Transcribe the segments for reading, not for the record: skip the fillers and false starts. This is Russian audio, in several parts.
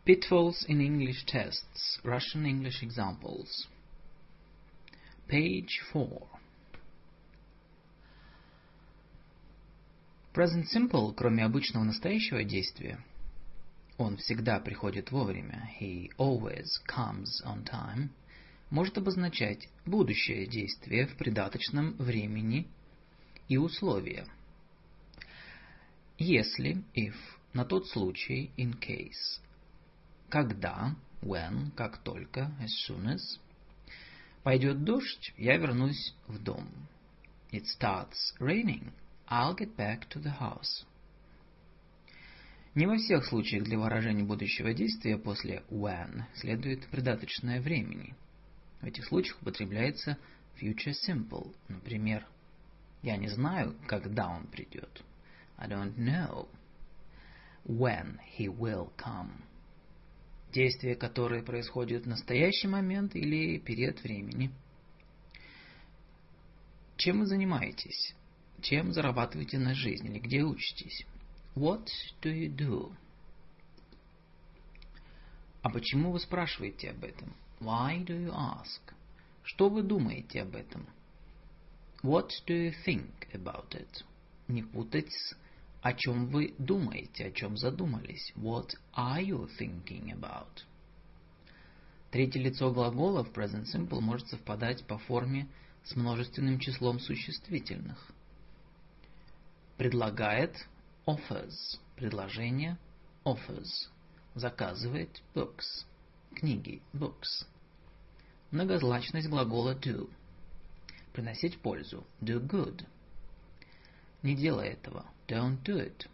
Pitfalls in English tests. Russian English examples. Page 4. Present simple, кроме обычного настоящего действия, он всегда приходит вовремя, he always comes on time, может обозначать будущее действие в придаточном времени и условия. Если, if, на тот случай, in case, когда, when, как только, as soon as, пойдет дождь, я вернусь в дом. It starts raining, I'll get back to the house. Не во всех случаях для выражения будущего действия после when следует придаточное времени. В этих случаях употребляется future simple. Например, я не знаю, когда он придет. I don't know when he will come. Действия, которые происходят в настоящий момент или период времени. Чем вы занимаетесь? Чем зарабатываете на жизнь или где учитесь? What do you do? А почему вы спрашиваете об этом? Why do you ask? Что вы думаете об этом? What do you think about it? Не путать с о чем вы думаете, о чем задумались. What are you thinking about? Третье лицо глагола в present simple может совпадать по форме с множественным числом существительных. Предлагает offers. Предложение offers. Заказывает books. Книги books. Многозначность глагола do. Приносить пользу do good. Не делай этого. Don't do it.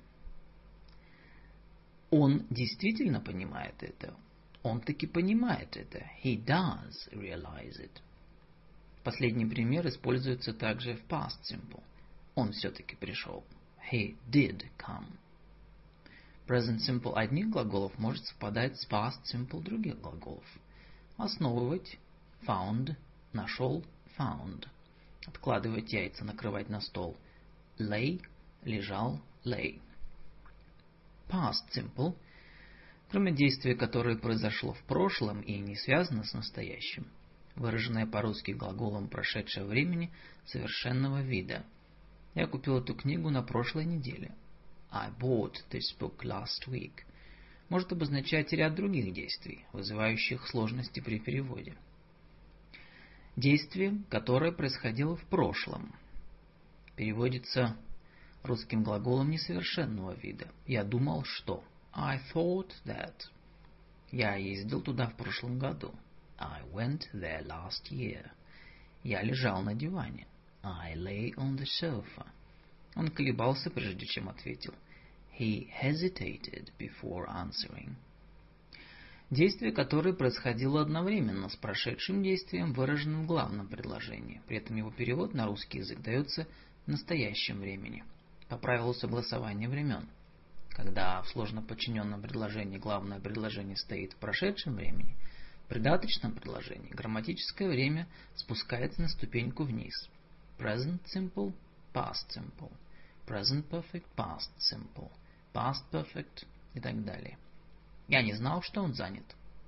Он действительно понимает это. Он таки понимает это. He does realize it. Последний пример используется также в past simple. Он все-таки пришел. He did come. Present simple одних глаголов может совпадать с past simple других глаголов. Основывать found, нашел found. Откладывать яйца, накрывать на стол. Lay, лежал, lay. Past simple, кроме действия, которое произошло в прошлом и не связано с настоящим, выраженное по-русски глаголом прошедшего времени совершенного вида. Я купил эту книгу на прошлой неделе. I bought this book last week. Может обозначать ряд других действий, вызывающих сложности при переводе. Действие, которое происходило в прошлом, переводится русским глаголом несовершенного вида. Я думал, что. I thought that. Я ездил туда в прошлом году. I went there last year. Я лежал на диване. I lay on the sofa. Он колебался, прежде чем ответил. He hesitated before answering. Действие, которое происходило одновременно с прошедшим действием, выражено в главном предложении. При этом его перевод на русский язык дается в настоящем времени, по правилу согласования времен. Когда в сложно подчиненном предложении главное предложение стоит в прошедшем времени, в придаточном предложении грамматическое время спускается на ступеньку вниз. Present simple, past simple, present perfect, past simple, past perfect и так далее. Я не знал, что он занят.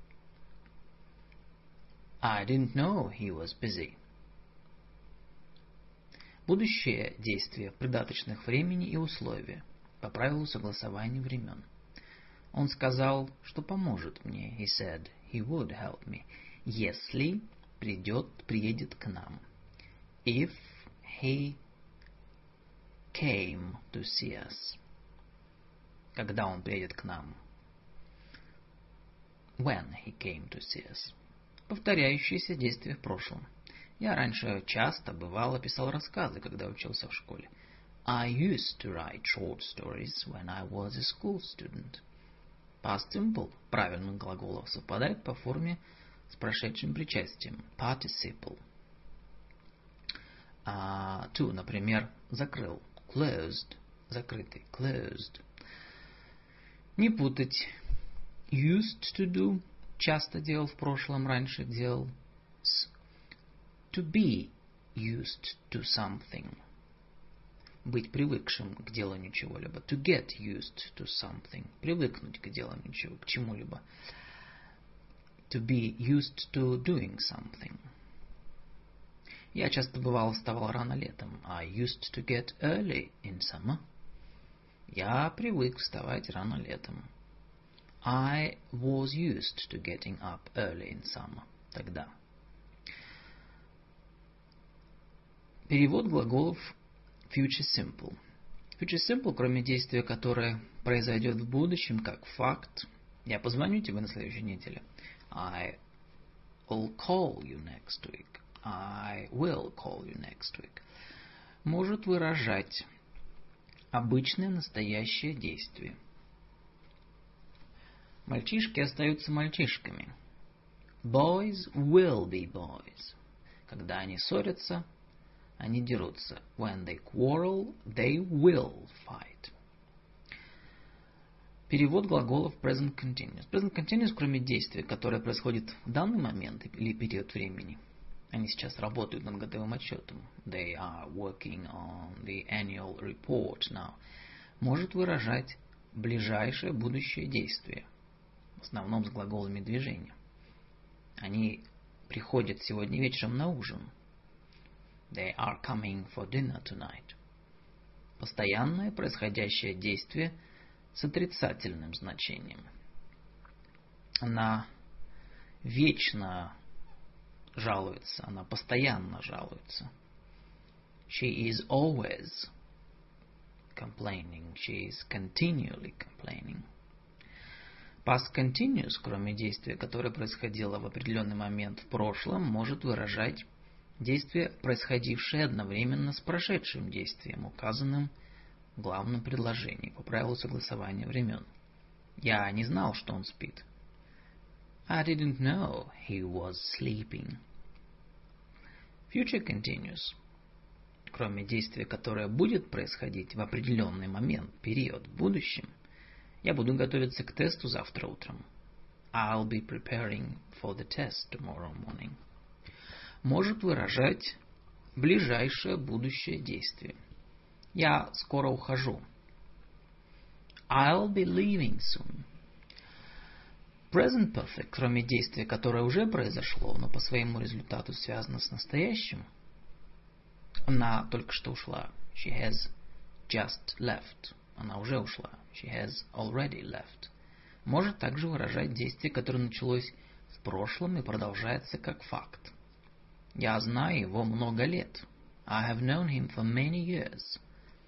I didn't know he was busy. Будущее действие придаточных времени и условия по правилу согласования времен. Он сказал, что поможет мне. He said he would help me. Если приедет к нам. If he came to see us. Когда он приедет к нам. When he came to see us. Повторяющиеся действия в прошлом. Я раньше часто, бывало, писал рассказы, когда учился в школе. I used to write short stories when I was a school student. Past simple правильных глаголов совпадает по форме с прошедшим причастием. Participle. To, например, закрыл. Closed. Закрытый. Closed. Не путать. Used to do. Часто делал в прошлом, раньше делал. С to be used to something. быть привыкшим к деланию чего-либо. To get used to something. Привыкнуть к деланию к чему-либо. To be used to doing something. Я часто вставал рано летом. I used to get early in summer. Я привык вставать рано летом. I was used to getting up early in summer. Тогда. Перевод глаголов future simple. Future simple, кроме действия, которое произойдет в будущем, как факт. Я позвоню тебе на следующей неделе. I will call you next week. I will call you next week. Может выражать обычное настоящее действие. Мальчишки остаются мальчишками. Boys will be boys. Когда они ссорятся, они дерутся. When they quarrel, they will fight. Перевод глаголов present continuous. Present continuous, кроме действия, которое происходит в данный момент или период времени. Они сейчас работают над годовым отчетом. They are working on the annual report now. Может выражать ближайшее будущее действие. В основном с глаголами движения. Они приходят сегодня вечером на ужин. They are coming for dinner tonight. Постоянное происходящее действие с отрицательным значением. Она вечно жалуется, она постоянно жалуется. She is always complaining. She is continually complaining. Past continuous, кроме действия, которое происходило в определенный момент в прошлом, может выражать действие, происходившее одновременно с прошедшим действием, указанным в главном предложении по правилу согласования времен. Я не знал, что он спит. I didn't know he was sleeping. Future continuous, кроме действия, которое будет происходить в определенный момент, период в будущем, я буду готовиться к тесту завтра утром. I'll be preparing for the test tomorrow morning. Может выражать ближайшее будущее действие. Я скоро ухожу. I'll be leaving soon. Present perfect, кроме действия, которое уже произошло, но по своему результату связано с настоящим. Она только что ушла. She has just left. Она уже ушла. She has already left. Может также выражать действие, которое началось в прошлом и продолжается как факт. Я знаю его много лет. I have known him for many years.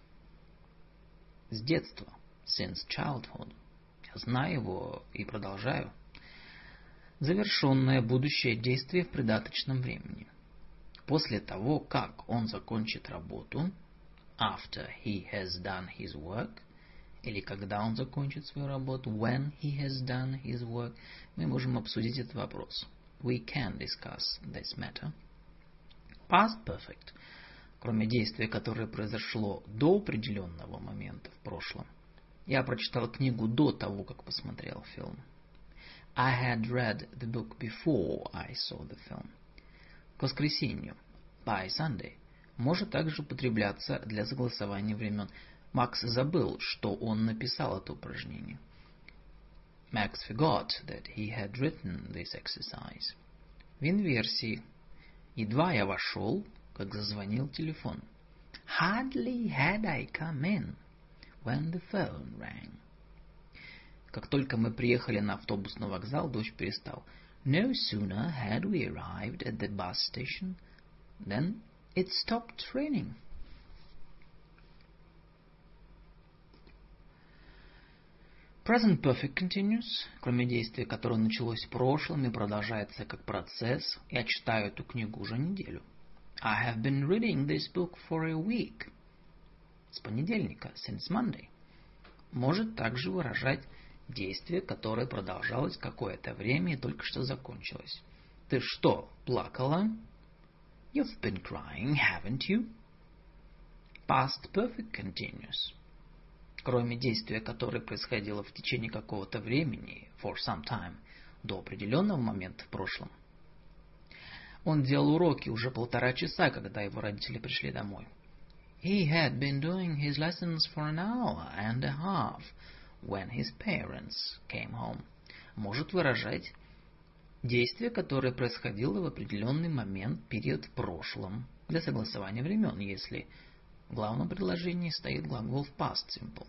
С детства. Since childhood. Я знаю его и продолжаю. Завершенное будущее действие в придаточном времени. После того, как он закончит работу, after he has done his work, или когда он закончит свою работу, when he has done his work, мы можем обсудить этот вопрос. We can discuss this matter. Past perfect, кроме действия, которое произошло до определенного момента в прошлом. Я прочитал книгу до того, как посмотрел фильм. I had read the book before I saw the film. К воскресенью, by Sunday, может также употребляться для согласования времен. Макс забыл, что он написал это упражнение. Max forgot that he had written this exercise. В инверсии. Едва я вошел, как зазвонил телефон. Hardly had I come in when the phone rang. Как только мы приехали на автобусный вокзал, дождь перестал. No sooner had we arrived at the bus station than it stopped raining. Present perfect continuous, кроме действия, которое началось в прошлом и продолжается как процесс. Я читаю эту книгу уже неделю. I have been reading this book for a week. С понедельника, since Monday. Может также выражать действие, которое продолжалось какое-то время и только что закончилось. Ты что, плакала? You've been crying, haven't you? Past perfect continuous. Кроме действия, которое происходило в течение какого-то времени, for some time, до определенного момента в прошлом. Он делал уроки уже 1,5 часа, когда его родители пришли домой. He had been doing his lessons for an hour and a half when his parents came home. Может выражать действие, которое происходило в определенный момент, период в прошлом, для согласования времен, если в главном предложении стоит глагол в past simple.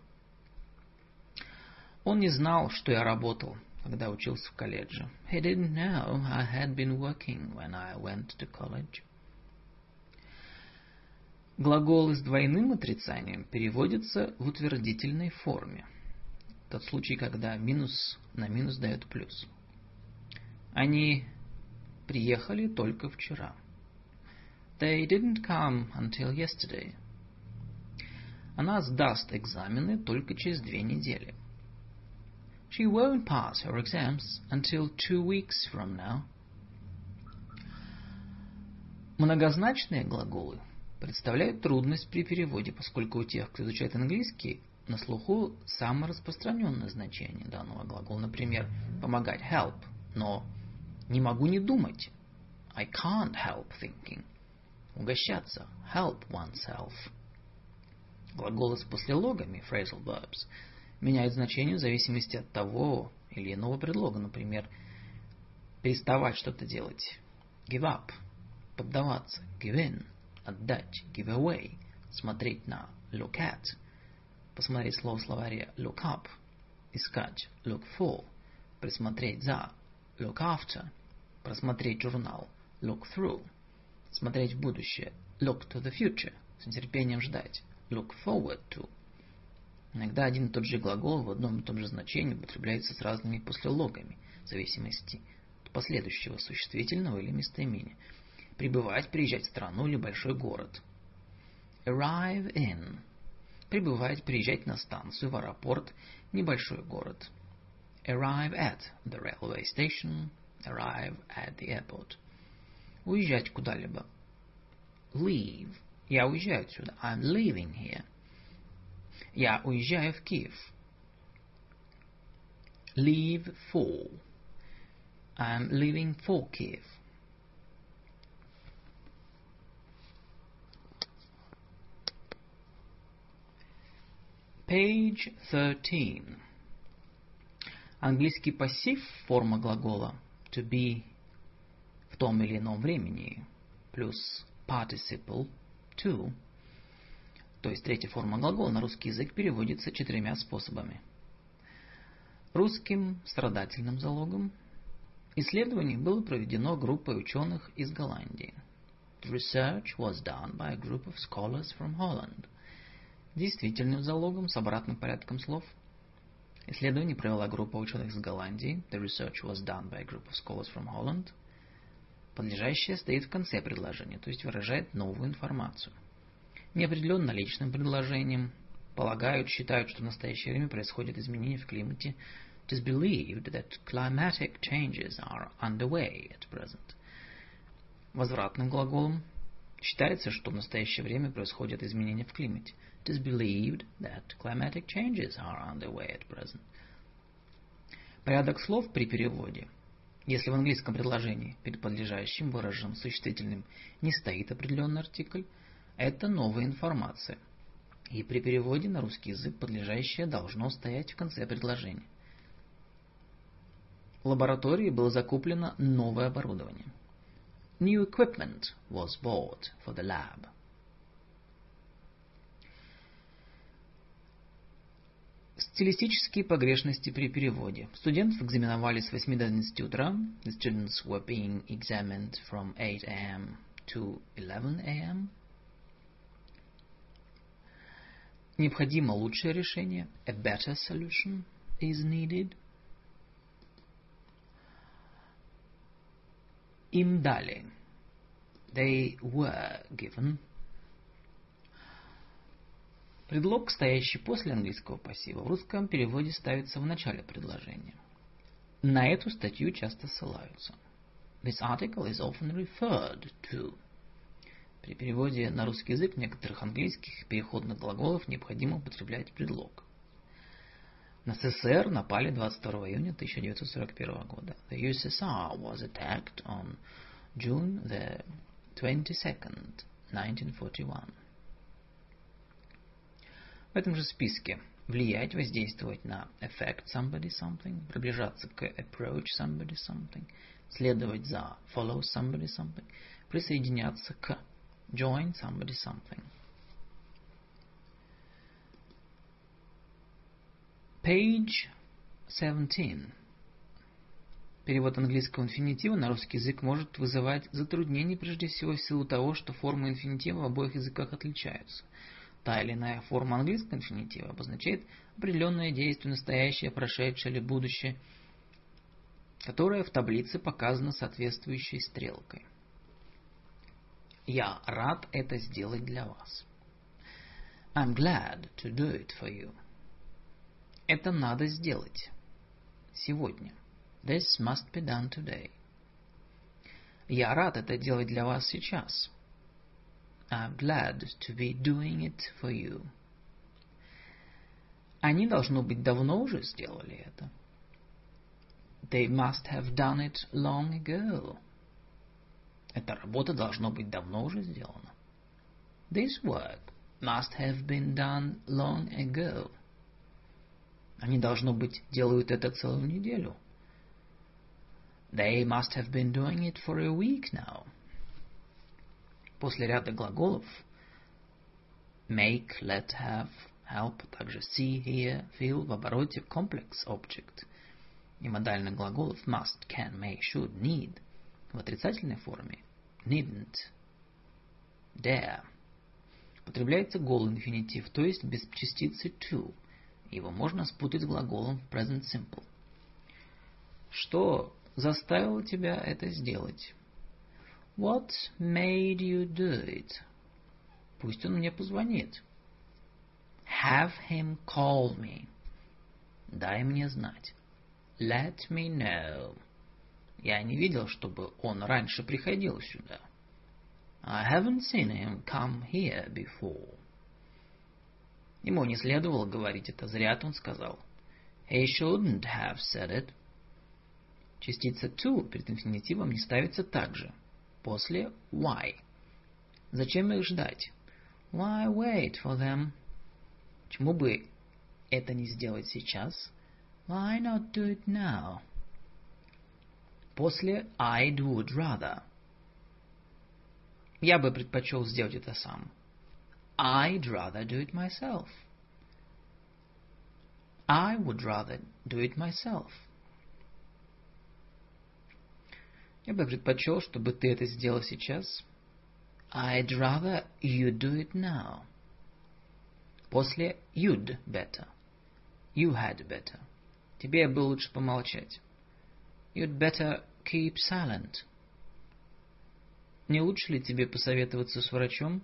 Он не знал, что я работал, когда учился в колледже. He didn't know I had been working when I went to college. Глаголы с двойным отрицанием переводятся в утвердительной форме. Тот случай, когда минус на минус дает плюс. Они приехали только вчера. They didn't come until yesterday. Она сдаст экзамены только через 2 недели. She won't pass her exams until 2 weeks from now. Многозначные глаголы представляют трудность при переводе, поскольку у тех, кто изучает английский, на слуху самое распространенное значение данного глагола. Например, помогать help, но не могу не думать. I can't help thinking. Угощаться help oneself. Глаголы с послелогами phrasal verbs меняют значение в зависимости от того или иного предлога. Например, переставать что-то делать give up, поддаваться give in, отдать give away, смотреть на look at, посмотреть слово в словаре look up, искать look for, присмотреть за look after, просмотреть журнал look through, смотреть в будущее look to the future, с нетерпением ждать look forward to. Иногда один и тот же глагол в одном и том же значении употребляется с разными послелогами, в зависимости от последующего существительного или местоимения. Прибывать, приезжать в страну или большой город. Arrive in. Прибывать, приезжать на станцию, в аэропорт, небольшой город. Arrive at the railway station. Arrive at the airport. Уезжать куда-либо. Leave. Я уезжаю отсюда. I'm leaving here. Я уезжаю в Киев. Leave for. I'm leaving for Kiev. Page 13. Английский пассив, форма глагола to be в том или ином времени, плюс participle to, то есть третья форма глагола, на русский язык переводится 4 способами. Русским страдательным залогом. Исследование было проведено группой ученых из Голландии. The research was done by a group of scholars from Holland. Действительным залогом с обратным порядком слов. Исследование провела группа ученых из Голландии. The research was done by a group of scholars from Holland. Подлежащее стоит в конце предложения, то есть выражает новую информацию. Неопределенно личным предложением полагают, считают, что в настоящее время происходят изменения в климате. It is believed that climatic changes are underway at present. Возвратным глаголом считается, что в настоящее время происходят изменения в климате. It is believed that climatic changes are underway at present. Порядок слов при переводе. Если в английском предложении перед подлежащим выраженным существительным не стоит определенный артикль, это новая информация. И при переводе на русский язык подлежащее должно стоять в конце предложения. В лаборатории было закуплено новое оборудование. New equipment was bought for the lab. Стилистические погрешности при переводе. Студентов экзаменовали с 8 до 11 утра. The students were being examined from 8 a.m. to 11 a.m. Необходимо лучшее решение. A better solution is needed. Им дали. They were given. Предлог, стоящий после английского пассива, в русском переводе ставится в начале предложения. На эту статью часто ссылаются. This article is often referred to. При переводе на русский язык некоторых английских переходных глаголов необходимо употреблять предлог. На СССР напали 22 июня 1941 года. The USSR was attacked on June the 22nd, 1941. В этом же списке влиять, воздействовать на affect somebody something, приближаться к approach somebody something, следовать за follow somebody something, присоединяться к join somebody something. Page 17. Перевод английского инфинитива на русский язык может вызывать затруднения прежде всего в силу того, что формы инфинитива в обоих языках отличаются. Та или иная форма английского инфинитива обозначает определенное действие, настоящее, прошедшее или будущее, которое в таблице показано соответствующей стрелкой. Я рад это сделать для вас. I'm glad to do it for you. Это надо сделать сегодня. This must be done today. Я рад это делать для вас сейчас. I'm glad to be doing it for you. Они, должно быть, давно уже сделали это. They must have done it long ago. Эта работа, должно быть, давно уже сделана. This work must have been done long ago. Они, должно быть, делают это целую неделю. They must have been doing it for a week now. После ряда глаголов make, let, have, help, также see, hear, feel в обороте complex object и модальных глаголов must, can, may, should, need в отрицательной форме needn't, dare. Употребляется голый инфинитив, то есть без частицы to. Его можно спутать с глаголом present simple. Что заставило тебя это сделать? What made you do it? Пусть он мне позвонит. Have him call me. Дай мне знать. Let me know. Я не видел, чтобы он раньше приходил сюда. I haven't seen him come here before. Ему не следовало говорить это, зря он сказал. He shouldn't have said it. Частица to перед инфинитивом не ставится также. После why. Зачем их ждать? Why wait for them? Почему бы это не сделать сейчас? Why not do it now? После I'd would rather. Я бы предпочел сделать это сам. I'd rather do it myself. I would rather do it myself. Я бы предпочел, чтобы ты это сделал сейчас. I'd rather you do it now. После you'd better. You had better. Тебе было лучше помолчать. You'd better keep silent. Не лучше ли тебе посоветоваться с врачом?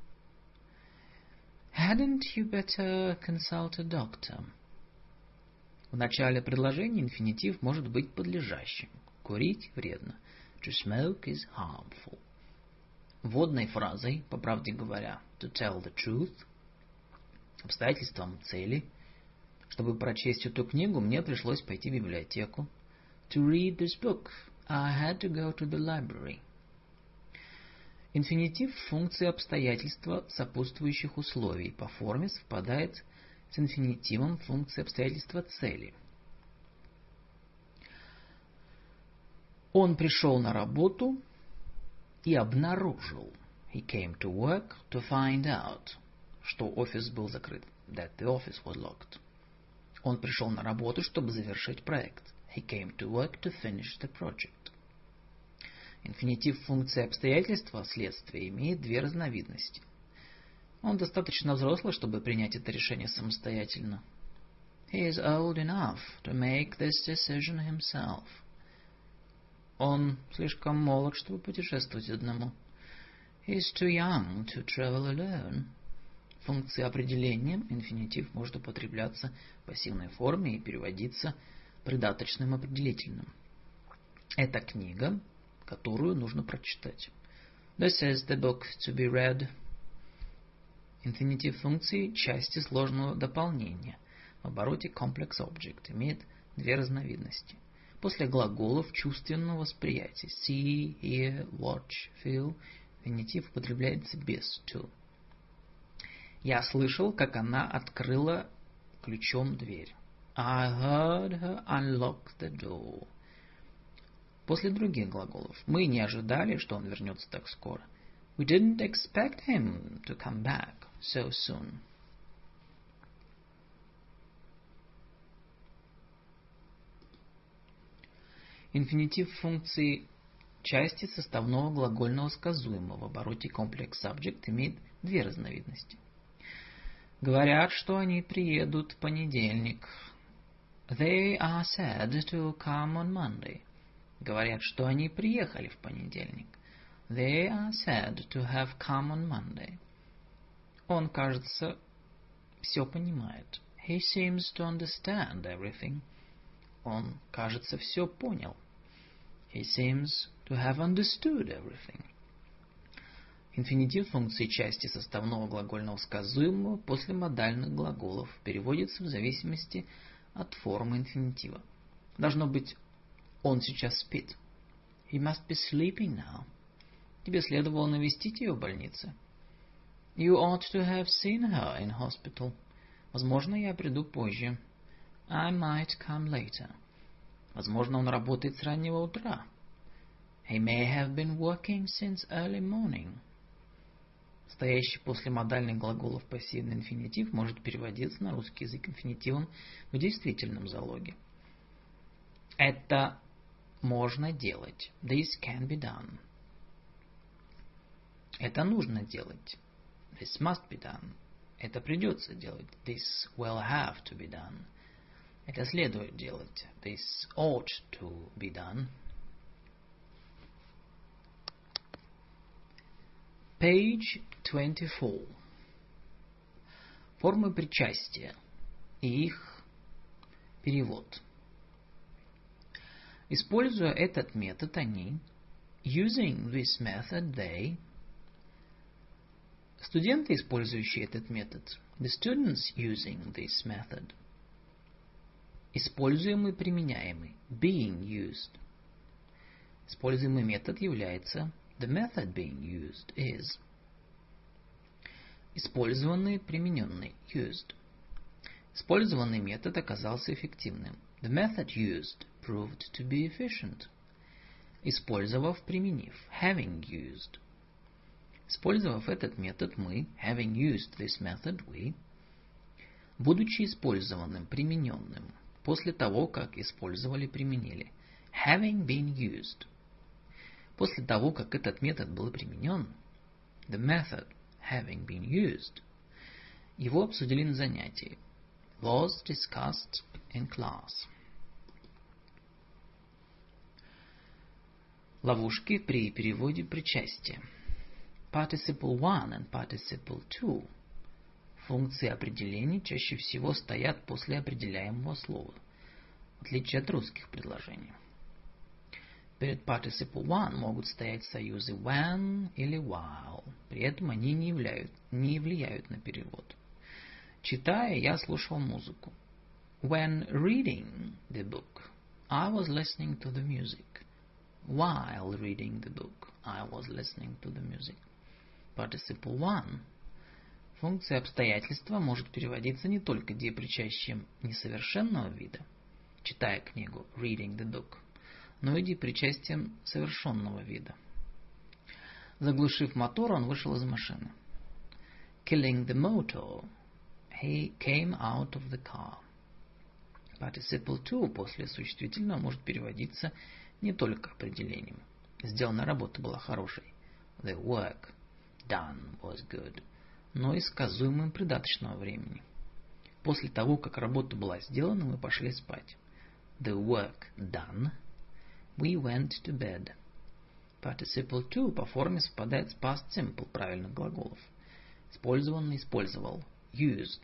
Hadn't you better consult a doctor? В начале предложения инфинитив может быть подлежащим. Курить вредно. To smoke is harmful. Вводной фразой, по правде говоря, to tell the truth, обстоятельством цели. Чтобы прочесть эту книгу, мне пришлось пойти в библиотеку. To read this book, I had to go to the library. Инфинитив – функции обстоятельства сопутствующих условий. По форме совпадает с инфинитивом функции обстоятельства цели. Он пришел на работу и обнаружил. He came to work to find out. Что офис был закрыт. That the office was locked. Он пришел на работу, чтобы завершить проект. He came to work to finish the project. Инфинитив функции обстоятельства следствия имеет две разновидности. Он достаточно взрослый, чтобы принять это решение самостоятельно. He is old enough to make this decision himself. Он слишком молод, чтобы путешествовать одному. He is too young to travel alone. Функции определения инфинитив может употребляться в пассивной форме и переводиться придаточным определительным. Это книга, которую нужно прочитать. This is the book to be read. Инфинитив функции – части сложного дополнения. В обороте complex object имеет две разновидности. После глаголов чувственного восприятия see, hear, watch, feel инфинитив употребляется без to. Я слышал, как она открыла ключом дверь. I heard her unlock the door. После других глаголов. Мы не ожидали, что он вернется так скоро. We didn't expect him to come back so soon. Инфинитив функции части составного глагольного сказуемого в обороте complex subject имеет две разновидности. Говорят, что они приедут в понедельник. They are said to come on Monday. Говорят, что они приехали в понедельник. They are said to have come on Monday. Он, кажется, все понимает. He seems to understand everything. Он, кажется, все понял. He seems to have understood everything. Инфинитив функции части составного глагольного сказуемого после модальных глаголов переводится в зависимости от формы инфинитива. Должно быть, он сейчас спит. He must be sleeping now. Тебе следовало навестить ее в больнице. You ought to have seen her in hospital. Возможно, я приду позже. I might come later. Возможно, он работает с раннего утра. He may have been working since early morning. Стоящий после модальных глаголов пассивный инфинитив может переводиться на русский язык инфинитивом в действительном залоге. Это можно делать. This can be done. Это нужно делать. This must be done. Это придется делать. This will have to be done. Это следует делать. This ought to be done. Page 24. Формы причастия и их перевод. Используя этот метод, они, using this method, they, студенты, использующие этот метод, the students using this method, используемый, применяемый, being used. Используемый метод является the method being used is. Использованный, примененный, used. Использованный метод оказался эффективным. The method used proved to be efficient. Использовав, применив, having used. Использовав этот метод, мы, having used this method, we, будучи использованным, примененным, после того, как использовали, применили, having been used. После того, как этот метод был применен, the method having been used, его обсудили на занятии, was discussed in class. Ловушки при переводе причастия. Participle 1 and participle 2. Функции определений чаще всего стоят после определяемого слова, в отличие от русских предложений. Перед participle 1 могут стоять союзы when или while. При этом они не влияют на перевод. Читая, я слушал музыку. When reading the book, I was listening to the music. While reading the book, I was listening to the music. Participle 1. Функция обстоятельства может переводиться не только депричастием несовершенного вида, читая книгу, reading the book, но и депричастием совершенного вида. Заглушив мотор, он вышел из машины. Killing the motor, he came out of the car. Participle 2 после существительного может переводиться не только определением. Сделанная работа была хорошей. The work done was good. Но и сказуемым придаточного времени. После того, как работа была сделана, мы пошли спать. The work done. We went to bed. Participle 2 по форме совпадает с past simple правильных глаголов. Использованный, использовал. Used.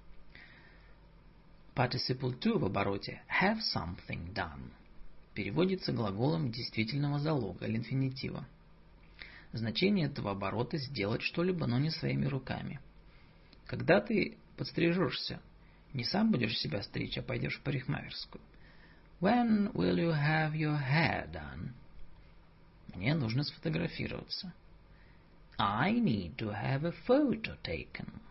Participle 2 в обороте have something done переводится глаголом действительного залога или инфинитива. Значение этого оборота сделать что-либо, но не своими руками. Когда ты подстрижешься, не сам будешь себя стричь, а пойдешь в парикмахерскую. When will you have your hair done? Мне нужно сфотографироваться. I need to have a photo taken.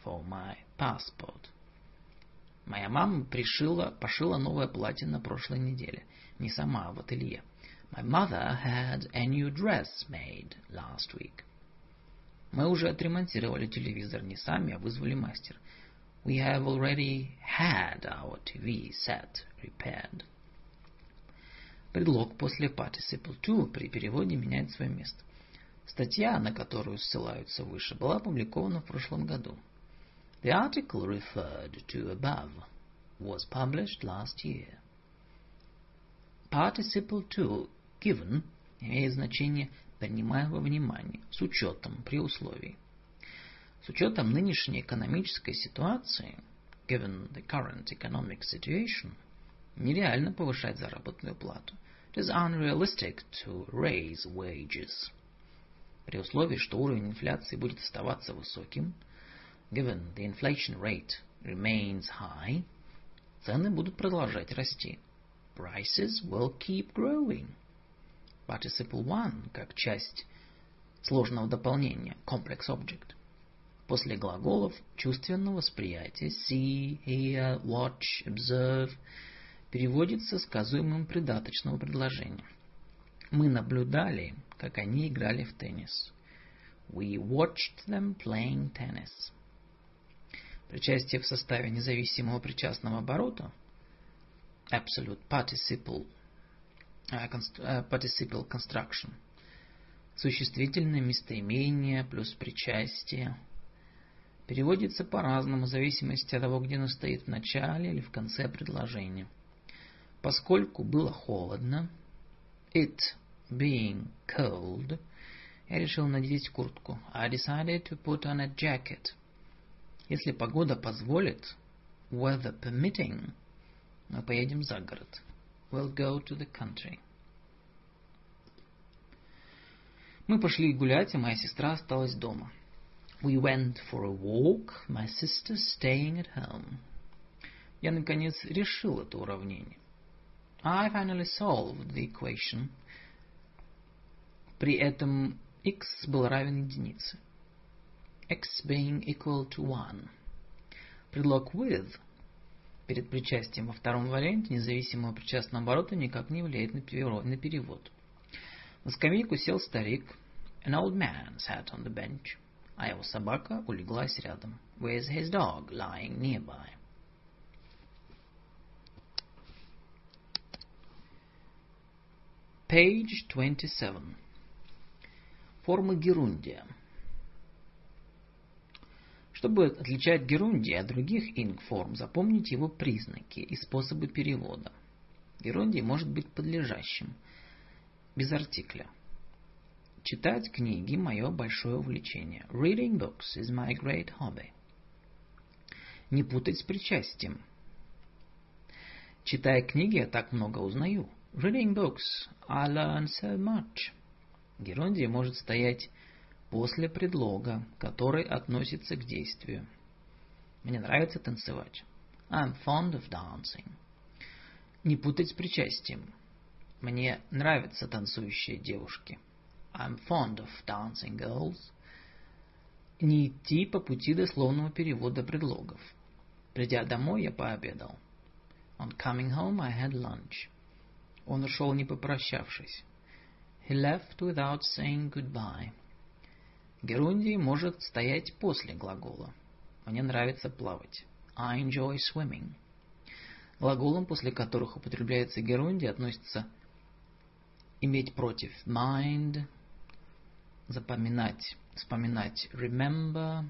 for my passport. Моя мама пошила новое платье на прошлой неделе. Не сама, а в ателье. My mother had a new dress made last week. Мы уже отремонтировали телевизор не сами, а вызвали мастера. We have already had our TV set repaired. Предлог после participle to при переводе меняет свое место. Статья, на которую ссылаются выше, была опубликована в прошлом году. The article referred to above was published last year. Participle to given имеет значение «принимая во внимание», с учетом, при условии. С учетом нынешней экономической ситуации, given the current economic situation, нереально повышать заработную плату. It is unrealistic to raise wages. При условии, что уровень инфляции будет оставаться высоким, given the inflation rate remains high, цены будут продолжать расти. Prices will keep growing. Participle one как часть сложного дополнения, complex object. После глаголов чувственного восприятия see, hear, watch, observe переводится сказуемым придаточного предложения. Мы наблюдали, как они играли в теннис. We watched them playing tennis. Причастие в составе независимого причастного оборота absolute participle construction. Существительное местоимение плюс причастие переводится по-разному в зависимости от того, где оно стоит в начале или в конце предложения. Поскольку было холодно, it being cold, я решил надеть куртку. I decided to put on a jacket. Если погода позволит, weather permitting, мы поедем за город. We'll go to the country. Мы пошли гулять, а моя сестра осталась дома. We went for a walk, my sister staying at home. Я, наконец, решил это уравнение. I finally solved the equation. При этом x был равен единице. X being equal to 1. Предлог with перед причастием во втором варианте независимого причастного оборота никак не влияет на перевод. На скамейку сел старик. An old man sat on the bench. А его собака улеглась рядом. With his dog lying nearby. Page 27. Формы герундия. Чтобы отличать герундий от других инг-форм, запомните его признаки и способы перевода. Герундий может быть подлежащим, без артикля. Читать книги – мое большое увлечение. Reading books is my great hobby. Не путать с причастием. Читая книги, я так много узнаю. Reading books, I learn so much. Герундий может стоять после предлога, который относится к действию. Мне нравится танцевать. I'm fond of dancing. Не путать с причастием. Мне нравятся танцующие девушки. I'm fond of dancing girls. Не идти по пути дословного перевода предлогов. Придя домой, я пообедал. On coming home, I had lunch. Он ушел, не попрощавшись. He left without saying goodbye. Герундий может стоять после глагола. Мне нравится плавать. I enjoy swimming. Глаголам, после которых употребляется герундий, относятся иметь против mind, запоминать, вспоминать remember,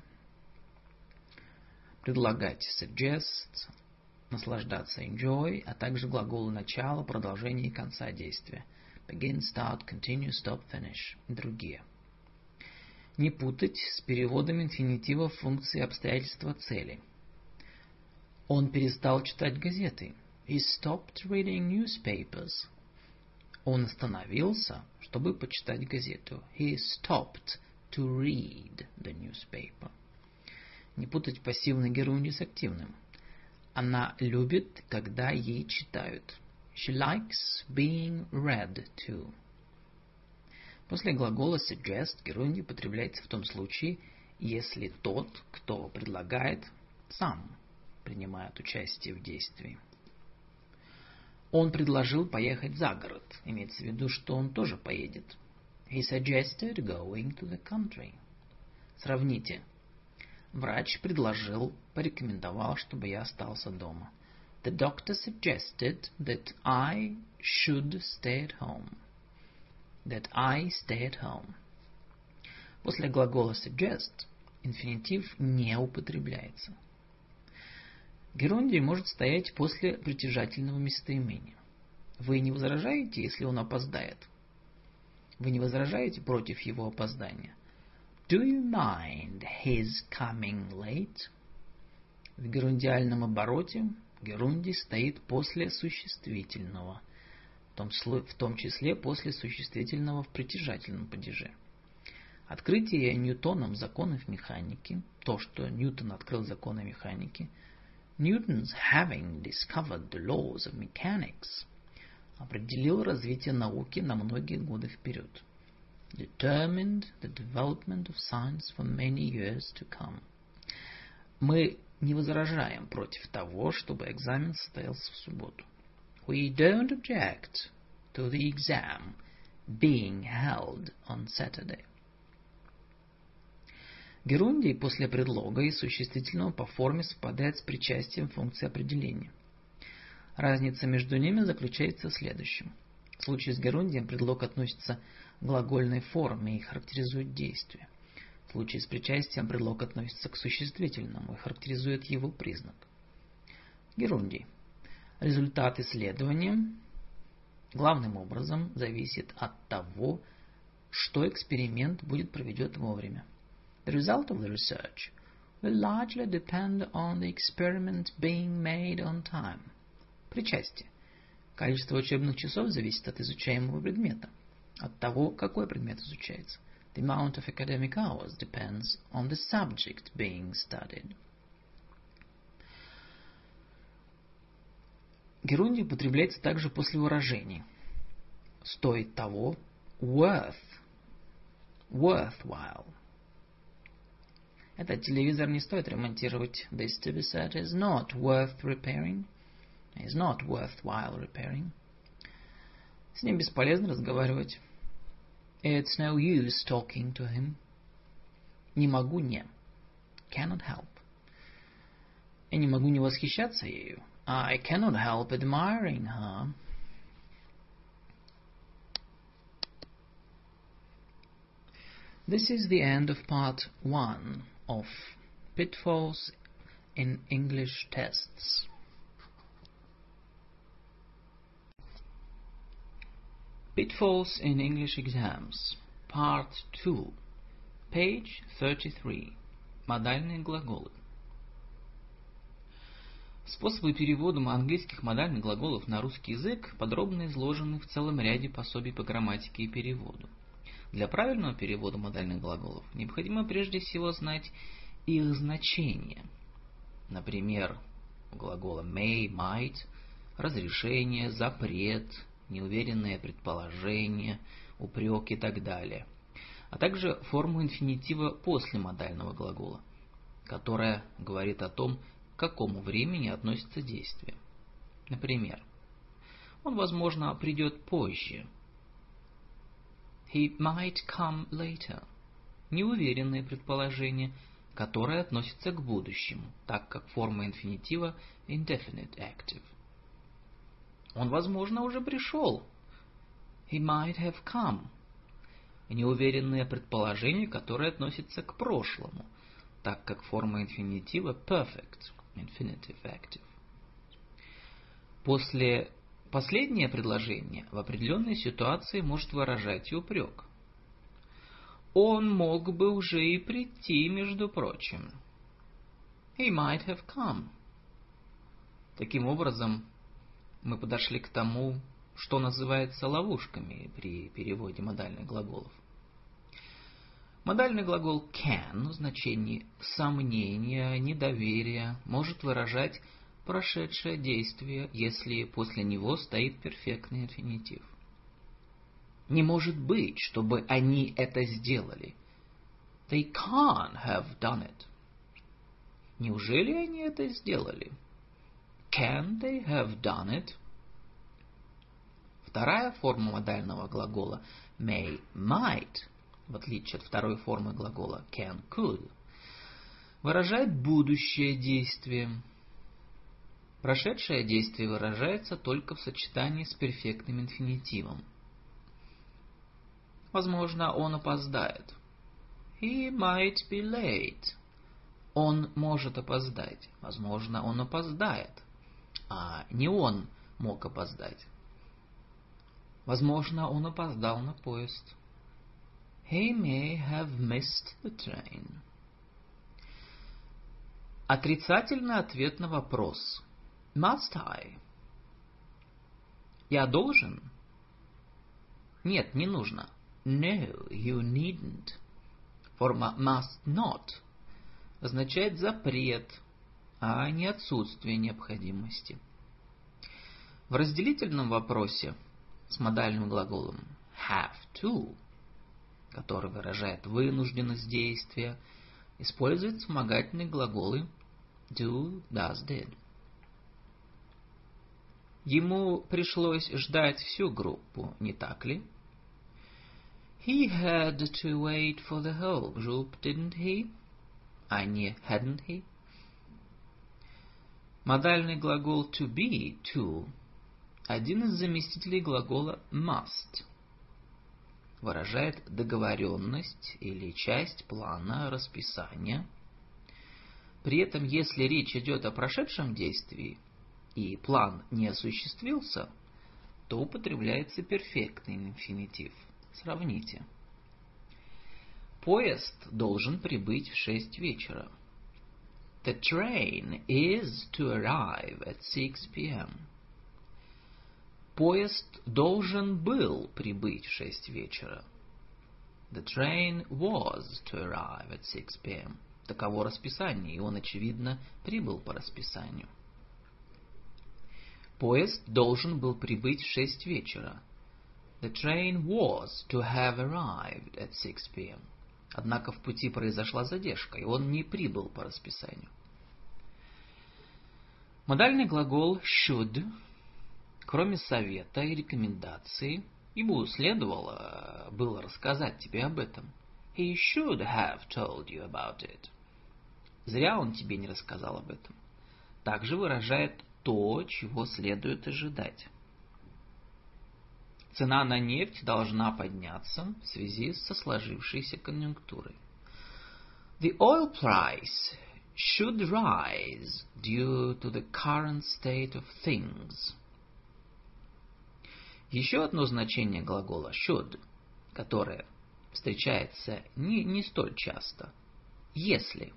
предлагать suggest, наслаждаться enjoy, а также глаголы начала, продолжения и конца действия. Begin, start, continue, stop, finish и другие. Не путать с переводом инфинитива функции обстоятельства цели. Он перестал читать газеты. He stopped reading newspapers. Он остановился, чтобы почитать газету. He stopped to read the newspaper. Не путать пассивный герундий с активным. Она любит, когда ей читают. She likes being read to. После глагола suggest герундий употребляется в том случае, если тот, кто предлагает, сам принимает участие в действии. Он предложил поехать за город. Имеется в виду, что он тоже поедет. He suggested going to the country. Сравните. Врач предложил, порекомендовал, чтобы я остался дома. The doctor suggested that I should stay at home. That I stay at home. После глагола suggest инфинитив не употребляется. Герундий может стоять после притяжательного местоимения. Вы не возражаете, если он опоздает? Вы не возражаете против его опоздания? Do you mind his coming late? В герундиальном обороте герундий стоит после существительного, в том числе после существительного в притяжательном падеже. Открытие Ньютоном законов механики, то, что Ньютон открыл законы механики, Newton's having discovered the laws of mechanics, определил развитие науки на многие годы вперед. Determined the development of science for many years to come. Мы не возражаем против того, чтобы экзамен состоялся в субботу. We don't object to the exam being held on Saturday. Герундий после предлога и существительного по форме совпадает с причастием функции определения. Разница между ними заключается в следующем. В случае с герундием предлог относится к глагольной форме и характеризует действие. В случае с причастием предлог относится к существительному и характеризует его признак. Герундий. Результат исследования главным образом зависит от того, что эксперимент будет проведен вовремя. The result of the research will largely depend on the experiment being made on time. Причастие. Количество учебных часов зависит от изучаемого предмета, от того, какой предмет изучается. The amount of academic hours depends on the subject being studied. Герундий употребляется также после выражений. Стоит того, worthwhile. Этот телевизор не стоит ремонтировать. This TV set is not worth repairing. Is not worthwhile repairing. С ним бесполезно разговаривать. It's no use talking to him. Не могу не. Cannot help. Я не могу не восхищаться ею. I cannot help admiring her. This is the end of part 1 of Pitfalls in English Tests. Pitfalls in English Exams, Part 2, page 33. Модальные глаголы. Способы перевода английских модальных глаголов на русский язык подробно изложены в целом ряде пособий по грамматике и переводу. Для правильного перевода модальных глаголов необходимо прежде всего знать их значение. Например, глагола may, might, разрешение, запрет, неуверенное предположение, упрек и так далее. А также форму инфинитива после модального глагола, которая говорит о том, к какому времени относится действие. Например, он, возможно, придет позже. He might come later. Неуверенное предположение, которое относится к будущему, так как форма инфинитива indefinite active. Он, возможно, уже пришел. He might have come. Неуверенное предположение, которое относится к прошлому, так как форма инфинитива perfect, infinitive active. Последнее предложение в определенной ситуации может выражать и упрек. Он мог бы уже и прийти, между прочим. He might have come. Таким образом, мы подошли к тому, что называется ловушками при переводе модальных глаголов. Модальный глагол can в значении сомнения, недоверия может выражать прошедшее действие, если после него стоит перфектный инфинитив. Не может быть, чтобы они это сделали. They can't have done it. Неужели они это сделали? Can they have done it? Вторая форма модального глагола may, might, в отличие от второй формы глагола can, could, выражает будущее действие. Прошедшее действие выражается только в сочетании с перфектным инфинитивом. Возможно, он опоздает. He might be late. Он может опоздать. Возможно, он опоздает. А не он мог опоздать. Возможно, он опоздал на поезд. He may have missed the train. Отрицательный ответ на вопрос. Must I? Я должен? Нет, не нужно. No, you needn't. Форма must not означает запрет, а не отсутствие необходимости. В разделительном вопросе с модальным глаголом have to, который выражает вынужденность действия, используют вспомогательные глаголы do, does, did. Ему пришлось ждать всю группу, не так ли? He had to wait for the whole group, didn't he? А не hadn't he? Модальный глагол to be, to, один из заместителей глагола must, выражает договоренность или часть плана, расписания. При этом, если речь идет о прошедшем действии и план не осуществился, то употребляется перфектный инфинитив. Сравните. Поезд должен прибыть в 6 вечера. The train is to arrive at 6 p.m. Поезд должен был прибыть в 6 вечера. The train was to arrive at 6 p.m. Таково расписание, и он, очевидно, прибыл по расписанию. Поезд должен был прибыть в 6 вечера. The train was to have arrived at 6 p.m. Однако в пути произошла задержка, и он не прибыл по расписанию. Модальный глагол should, кроме совета и рекомендации, ему следовало было рассказать тебе об этом. He should have told you about it. Зря он тебе не рассказал об этом. Также выражает то, чего следует ожидать. Цена на нефть должна подняться в связи со сложившейся конъюнктурой. The oil price should rise due to the current state of things. Еще одно значение глагола should, которое встречается не столь часто. Если.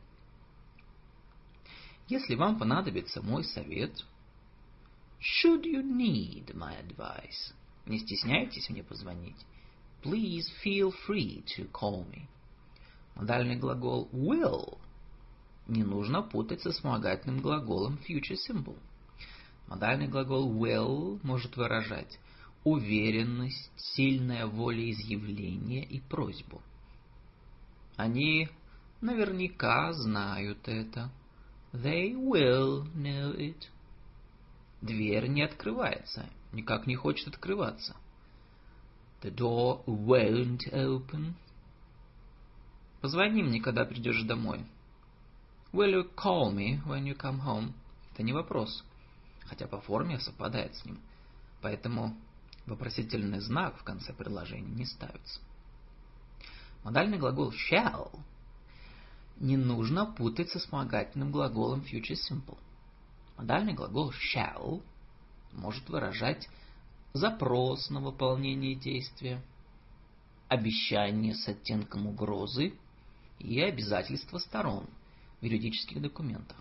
Если вам понадобится мой совет, should you need my advice, не стесняйтесь мне позвонить. Please feel free to call me. Модальный глагол will не нужно путать со вспомогательным глаголом future simple. Модальный глагол will может выражать уверенность, сильное волеизъявление и просьбу. Они наверняка знают это. They will know it. Дверь не открывается, никак не хочет открываться. The door won't open. Позвони мне, когда придешь домой. Will you call me when you come home? Это не вопрос, хотя по форме совпадает с ним. Поэтому вопросительный знак в конце предложения не ставится. Модальный глагол shall не нужно путать со вспомогательным глаголом future simple. Модальный глагол shall может выражать запрос на выполнение действия, обещание с оттенком угрозы и обязательства сторон в юридических документах.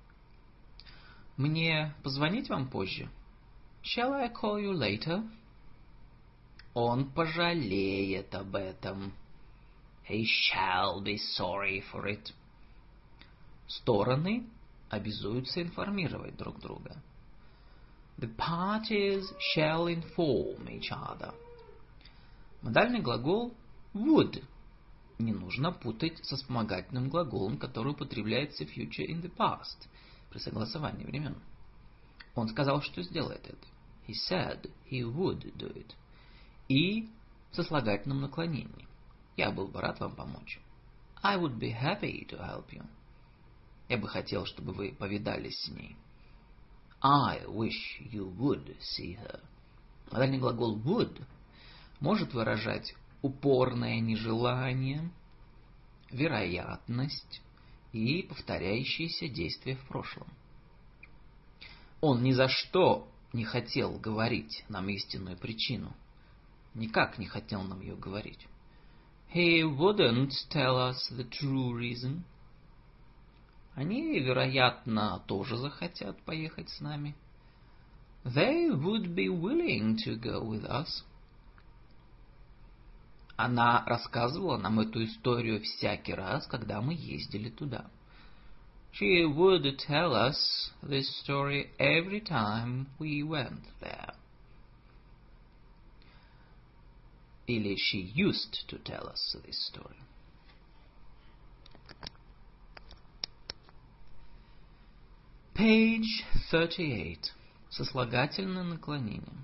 Мне позвонить вам позже? Shall I call you later? Он пожалеет об этом. He shall be sorry for it. Стороны обязуются информировать друг друга. The parties shall inform each other. Модальный глагол would не нужно путать со вспомогательным глаголом, который употребляется future in the past при согласовании времен. Он сказал, что сделает это. He said he would do it. И со слагательным наклонением. Я был бы рад вам помочь. I would be happy to help you. Я бы хотел, чтобы вы повидались с ней. I wish you would see her. Модальный глагол would может выражать упорное нежелание, вероятность и повторяющиеся действия в прошлом. Он ни за что не хотел говорить нам истинную причину. Никак не хотел нам ее говорить. He wouldn't tell us the true reason. Они, вероятно, тоже захотят поехать с нами. They would be willing to go with us. Она рассказывала нам эту историю всякий раз, когда мы ездили туда. She would tell us this story every time we went there. Или she used to tell us this story. Page 38. Сослагательное наклонение.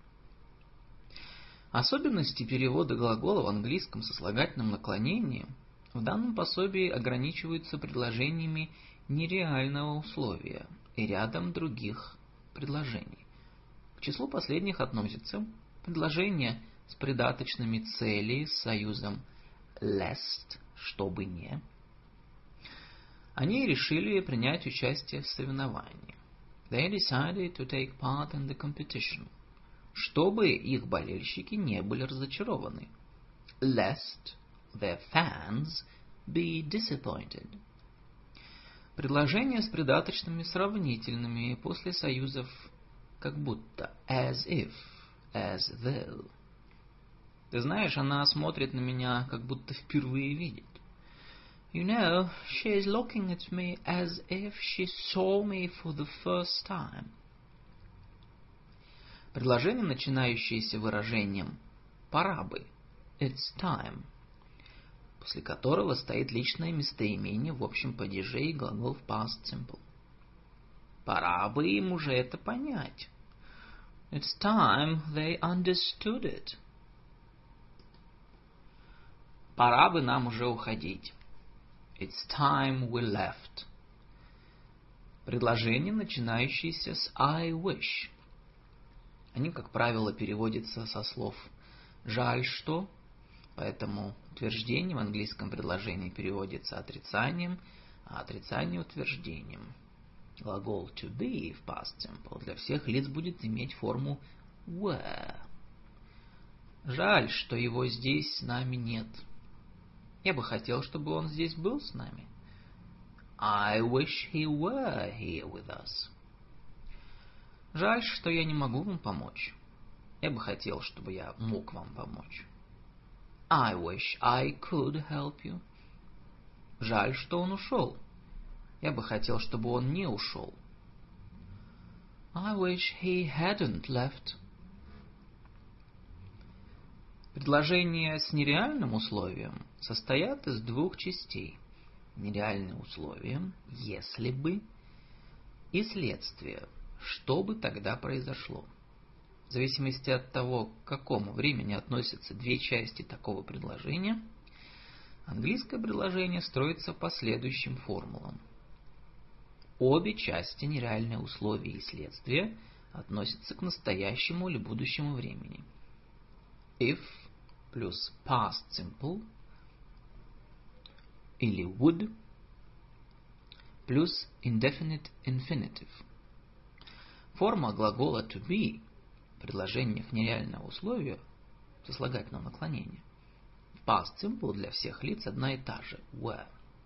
Особенности перевода глагола в английском сослагательном наклонении в данном пособии ограничиваются предложениями нереального условия и рядом других предложений. К числу последних относятся предложения с придаточными цели с союзом lest, чтобы не. Они решили принять участие в соревновании. They decided to take part in the competition. Чтобы их болельщики не были разочарованы. Lest their fans be disappointed. Предложения с придаточными сравнительными после союзов как будто as if, as though. Ты знаешь, она смотрит на меня, как будто впервые видит. You know, she is looking at me as if she saw me for the first time. Предложение, начинающееся выражением «пора бы», it's time, после которого стоит личное местоимение в общем падеже и глагол в past simple. Пора бы им уже это понять. It's time they understood it. Пора бы нам уже уходить. It's time we left. Предложение, начинающееся с I wish. Они, как правило, переводятся со слов «жаль, что», поэтому утверждение в английском предложении переводится отрицанием, а отрицание утверждением. Глагол to be в past simple для всех лиц будет иметь форму were. Жаль, что его здесь с нами нет. Я бы хотел, чтобы он здесь был с нами. I wish he were here with us. Жаль, что я не могу вам помочь. Я бы хотел, чтобы я мог вам помочь. I wish I could help you. Жаль, что он ушел. Я бы хотел, чтобы он не ушел. I wish he hadn't left. Предложения с нереальным условием состоят из двух частей. Нереальное условие, если бы, и следствие, что бы тогда произошло. В зависимости от того, к какому времени относятся две части такого предложения, английское предложение строится по следующим формулам. Обе части, нереальное условие и следствие, относятся к настоящему или будущему времени. If плюс past simple или would плюс indefinite infinitive. Форма глагола to be в предложениях нереального условия сослагательного наклонения в past simple для всех лиц одна и та же were.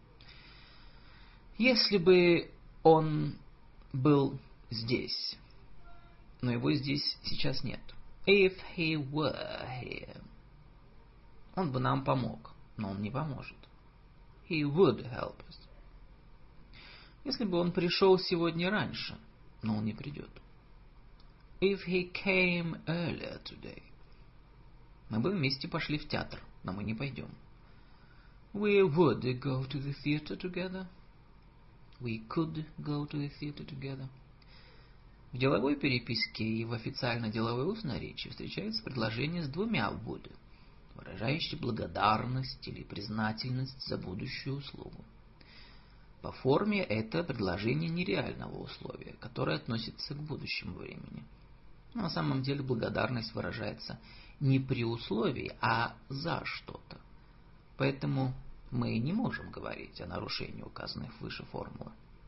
Если бы он был здесь, но его здесь сейчас нет. If he were here. Он бы нам помог, но он не поможет. He would help us. Если бы он пришел сегодня раньше, но он не придет. If he came earlier today. Мы бы вместе пошли в театр, но мы не пойдем. We would go to the theater together. We could go to the theater together. В деловой переписке и в официальной деловой устной речи встречается предложение с двумя would, выражающие благодарность или признательность за будущую услугу. По форме это предложение нереального условия, которое относится к будущему времени. Но на самом деле благодарность выражается не при условии, а за что-то. Поэтому мы не можем говорить о нарушении указанных выше формулы.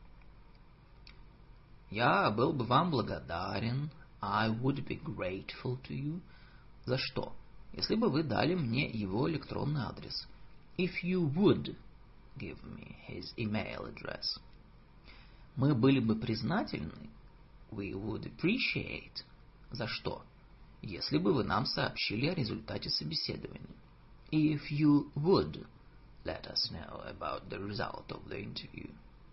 Я был бы вам благодарен. I would be grateful to you. За что? Если бы вы дали мне его электронный адрес. If you would give me his email address. Мы были бы признательны. We would appreciate. За что? Если бы вы нам сообщили о результате собеседования. If you would let us know about the result of the interview.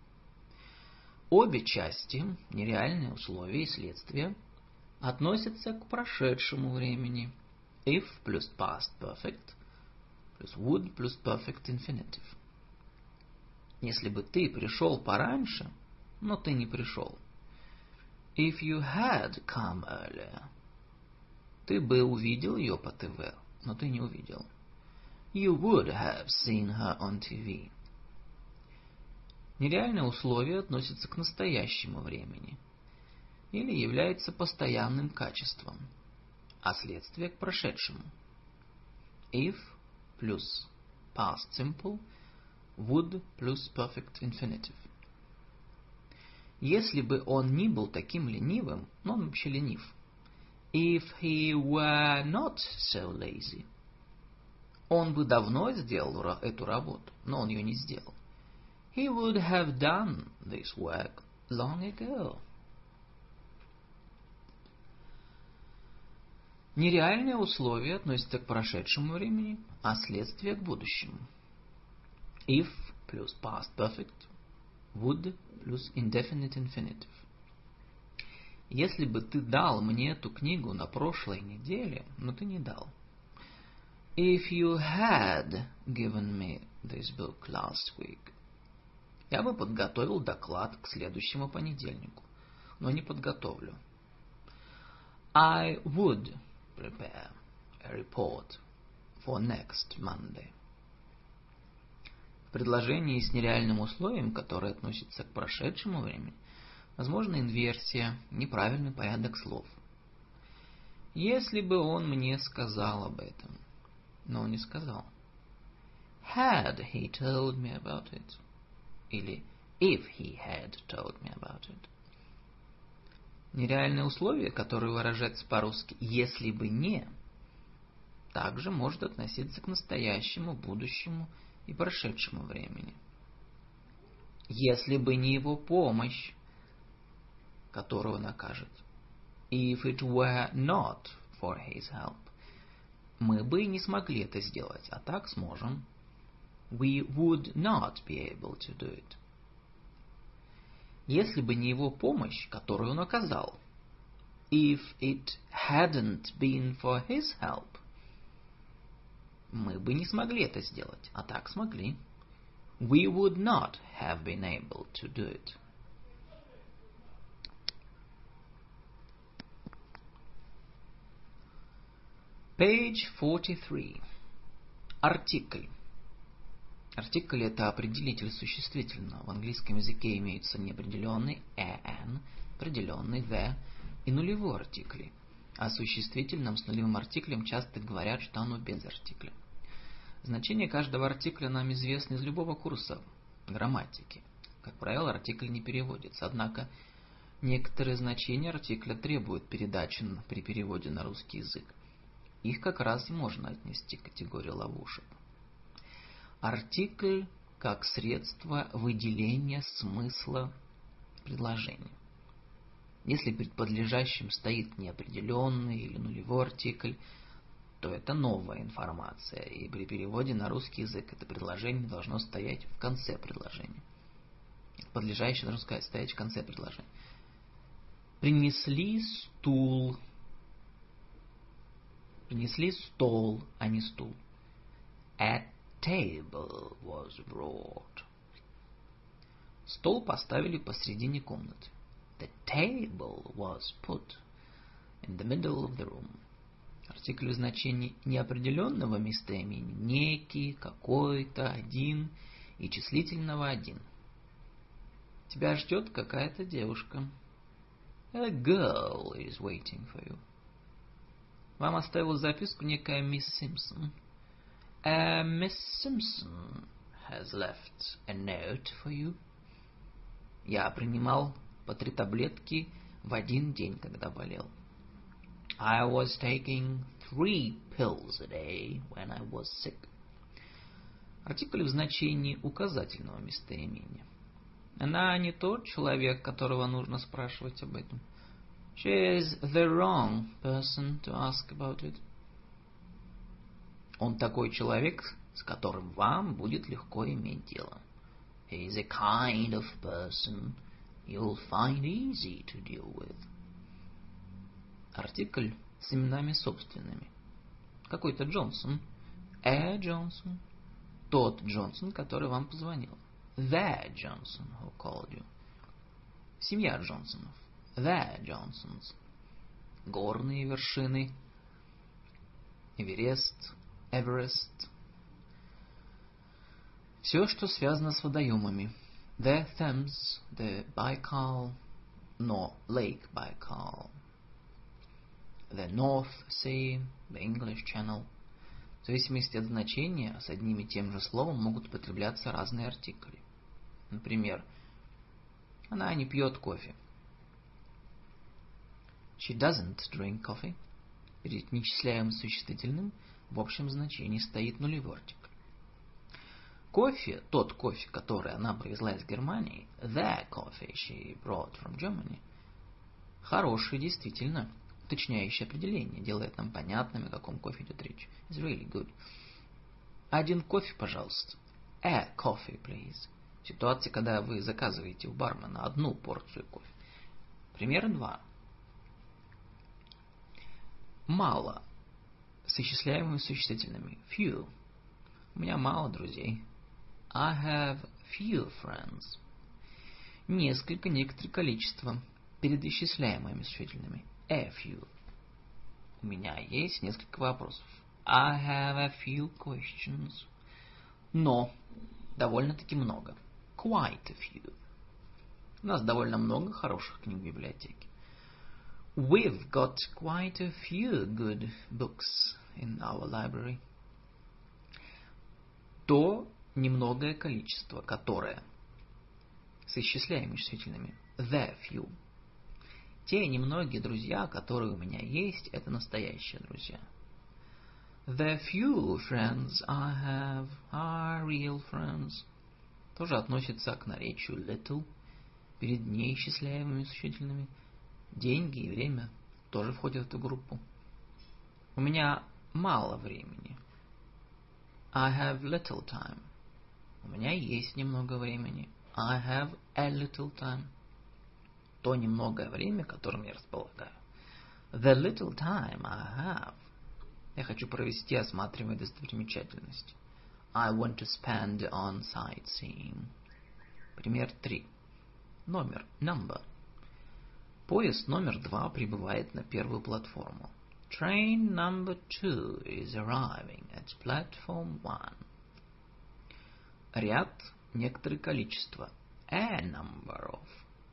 Обе части, нереальные условия и следствия, относятся к прошедшему времени. If плюс past perfect плюс would плюс perfect infinitive. Если бы ты пришел пораньше, но ты не пришел. If you had come earlier. Ты бы увидел ее по ТВ, но ты не увидел. You would have seen her on TV. Нереальное условие относится к настоящему времени или является постоянным качеством, а следствие к прошедшему. If плюс past simple, would плюс perfect infinitive. Если бы он не был таким ленивым, но он вообще ленив. If he were not so lazy. Он бы давно сделал эту работу, но он ее не сделал. He would have done this work long ago. Нереальные условия относятся к прошедшему времени, а следствие к будущему. If плюс past perfect, would плюс indefinite infinitive. Если бы ты дал мне эту книгу на прошлой неделе, но ты не дал. If you had given me this book last week. Я бы подготовил доклад к следующему понедельнику, но не подготовлю. I would prepare a report for next Monday. В предложении с нереальным условием, которое относится к прошедшему времени, возможна инверсия, неправильный порядок слов. Если бы он мне сказал об этом, но он не сказал. Had he told me about it? Или if he had told me about it. Нереальное условие, которое выражается по-русски «если бы не», также может относиться к настоящему, будущему и прошедшему времени. Если бы не его помощь, которую он окажет. If it were not for his help. Мы бы не смогли это сделать, а так сможем. We would not be able to do it. Если бы не его помощь, которую он оказал. If it hadn't been for his help. Мы бы не смогли это сделать, а так смогли. We would not have been able to do it. Page 43. Артикль. Артикль – это определитель существительного. В английском языке имеются неопределенный an, определенный the и нулевой артикли. О существительном с нулевым артиклем часто говорят, что оно без артикля. Значение каждого артикля нам известно из любого курса грамматики. Как правило, артикль не переводится, однако некоторые значения артикля требуют передачи при переводе на русский язык. Их как раз и можно отнести к категории ловушек. Артикль как средство выделения смысла предложения. Если перед подлежащим стоит неопределенный или нулевой артикль, то это новая информация, и при переводе на русский язык это предложение должно стоять в конце предложения. Подлежащее должно стоять в конце предложения. Принесли стул. Принесли стол, а не стул. A table was brought. Стол поставили посредине комнаты. The table was put in the middle of the room. Артикль в значении неопределенного местоимения некий, какой-то, один и числительного один. Тебя ждет какая-то девушка. A girl is waiting for you. Вам оставила записку некая мисс Симпсон. Miss Simpson has left a note for you. Я принимал по 3 таблетки в один день, когда болел. I was taking 3 pills a day when I was sick. Артикль в значении указательного местоимения. Она не тот человек, которого нужно спрашивать об этом. She is the wrong person to ask about it. Он такой человек, с которым вам будет легко иметь дело. He is a kind of person you'll find easy to deal with. Артикль с именами собственными. Какой-то Джонсон. A Johnson. Тот Джонсон, который вам позвонил. The Johnson who called you. Семья Джонсонов. The Johnsons. Горные вершины. Эверест, Эверест. Все, что связано с водоемами. The Thames, the Baikal, no, Lake Baikal. The North Sea, the English Channel. В зависимости от значения, с одним и тем же словом могут употребляться разные артикли. Например, она не пьет кофе. She doesn't drink coffee. Перед нечисляемым существительным в общем значении стоит нулевой артикль. Кофе, тот кофе, который она привезла из Германии, the coffee she brought from Germany, хороший, действительно, уточняющее определение, делает нам понятным, о каком кофе идет речь. It's really good. Один кофе, пожалуйста. A coffee, please. Ситуация, когда вы заказываете у бармена одну порцию кофе. Пример 2. Мало. С исчисляемыми существительными. Few. У меня мало друзей. I have few friends. Несколько, некоторое количество. Перед исчисляемыми существительными. A few. У меня есть несколько вопросов. I have a few questions. Но. Довольно-таки много. Quite a few. У нас довольно много хороших книг в библиотеке. We've got quite a few good books in our library. То немногое количество, которое с исчисляемыми числительными. The few. Те немногие друзья, которые у меня есть, это настоящие друзья. The few friends I have are real friends. Тоже относится к наречию little, перед неисчисляемыми существительными. Деньги и время тоже входят в эту группу. У меня мало времени. I have little time. У меня есть немного времени. I have a little time. То немногое время, которым я располагаю. The little time I have. Я хочу провести, осматривая достопримечательности. I want to spend on sightseeing. Пример 3. Номер. Number. Поезд номер 2 прибывает на первую платформу. Train number 2 is arriving at platform 1. Ряд, некоторое количество. A number of.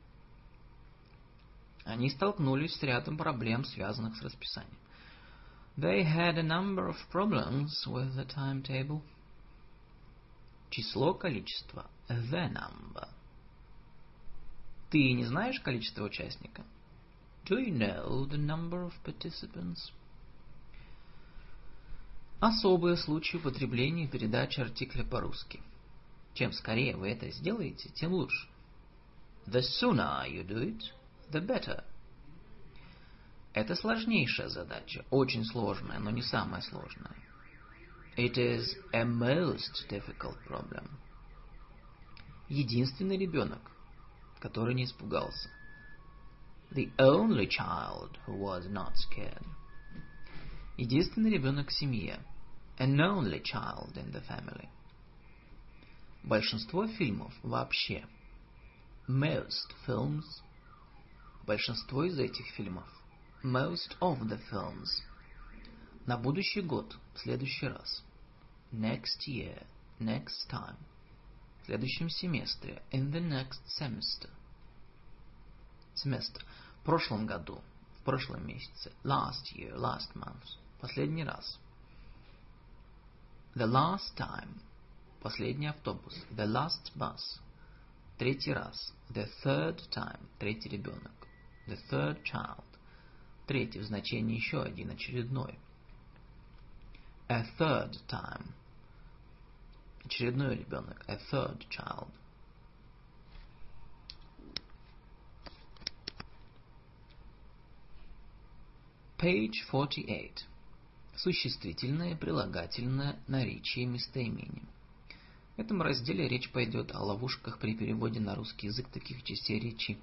Они столкнулись с рядом проблем, связанных с расписанием. They had a number of problems with the timetable. Число, количество. The number. Ты не знаешь количество участников? Do you know the number of participants? Особые случаи употребления и передачи артикля по-русски. Чем скорее вы это сделаете, тем лучше. The sooner you do it, the better. Это сложнейшая задача, очень сложная, но не самая сложная. It is a most difficult problem. Единственный ребенок, который не испугался. The only child who was not scared. Единственный ребенок в семье. An only child in the family. Большинство фильмов вообще. Most films. Большинство из этих фильмов. Most of the films. На будущий год. В следующий раз. Next year. Next time. В следующем семестре. In the next semester. Семестр. В прошлом году. В прошлом месяце. Last year. Last month. Последний раз. The last time. Последний автобус. The last bus. Третий раз. The third time. Третий ребенок. The third child. Третий в значении еще один, очередной. A third time. Очередной ребенок. A third child. Page 48. Существительное, прилагательное, наречие, местоимение. В этом разделе речь пойдет о ловушках при переводе на русский язык таких частей речи,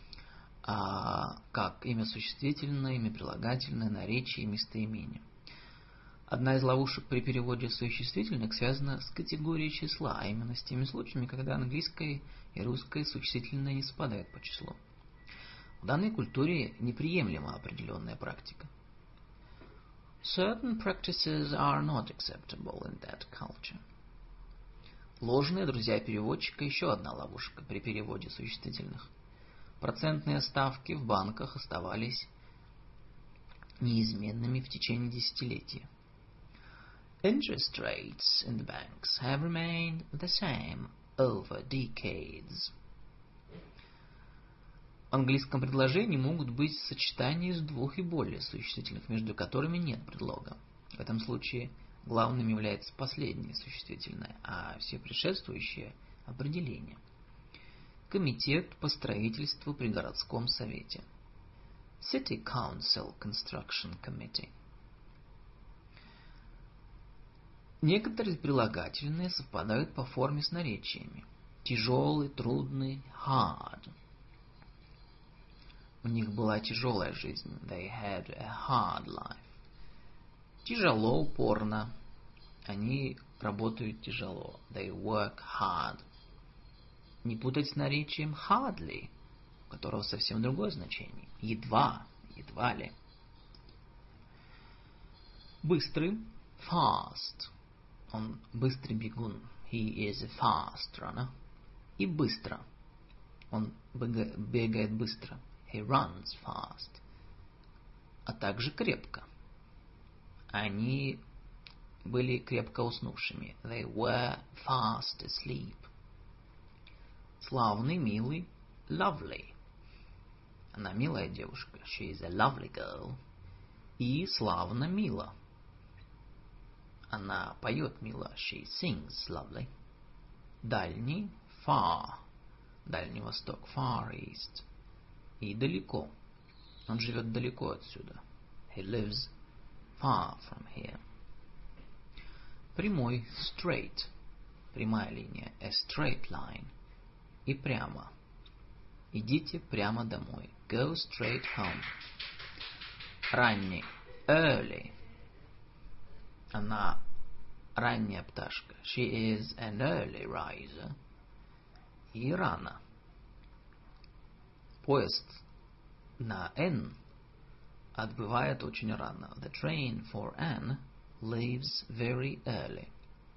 как имя существительное, имя прилагательное, наречие и местоимение. Одна из ловушек при переводе существительных связана с категорией числа, а именно с теми случаями, когда английское и русское существительное не совпадают по числу. В данной культуре неприемлема определенная практика. Certain practices are not acceptable in that culture. Ложные друзья переводчика – еще одна ловушка при переводе существительных. Процентные ставки в банках оставались неизменными в течение десятилетий. Interest rates in the banks have remained the same over decades. В английском предложении могут быть сочетания из двух и более существительных, между которыми нет предлога. В этом случае главным является последнее существительное, а все предшествующие – определение. Комитет по строительству при городском совете. City Council Construction Committee. Некоторые прилагательные совпадают по форме с наречиями. Тяжелый, трудный, hard. У них была тяжелая жизнь. They had a hard life. Тяжело, упорно. Они работают тяжело. They work hard. Не путать с наречием hardly, у которого совсем другое значение. Едва, едва ли. Быстрый, fast. Он быстрый бегун. He is a fast runner. И быстро. Он бегает быстро. He runs fast. А также крепко. Они были крепко уснувшими. They were fast asleep. Славный, милый, lovely. Она милая девушка. She is a lovely girl. И славно, мило. Она поет мило. She sings lovely. Дальний, far. Дальний Восток, far east. И далеко. Он живет далеко отсюда. He lives far from here. Прямой, straight. Прямая линия. A straight line. И прямо. Идите прямо домой. Go straight home. Ранний. Early. Она ранняя пташка. She is an early riser. И рано. Поезд на N отбывает очень рано. The train for N leaves very early.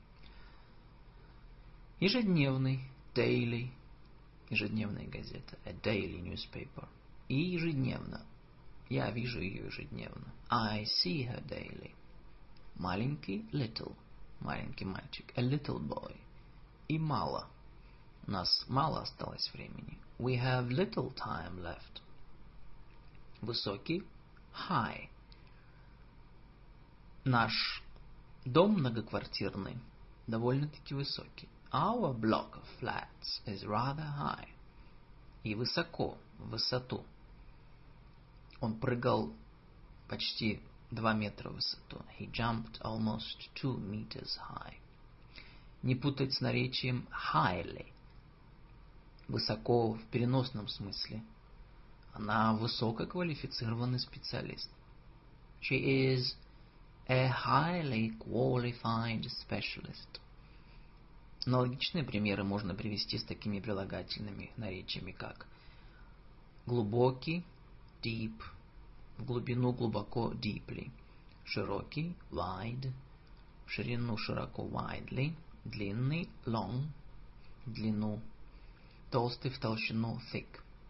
Ежедневный. Daily. Ежедневная газета. A daily newspaper. И ежедневно. Я вижу ее ежедневно. I see her daily. Маленький. Little. Маленький мальчик. A little boy. И мало. У нас мало осталось времени. We have little time left. Высокий. High. Наш дом многоквартирный. Довольно-таки высокий. Our block of flats is rather high. И высоко, в высоту. Он прыгал почти 2 метра в высоту. He jumped almost 2 meters high. Не путать с наречием highly. Высоко в переносном смысле. Она высококвалифицированный специалист. She is a highly qualified specialist. Аналогичные примеры можно привести с такими прилагательными наречиями, как глубокий, deep, в глубину глубоко, deeply, широкий, wide, в ширину широко, widely, длинный, long, в длину, толстый, в толщину, thick.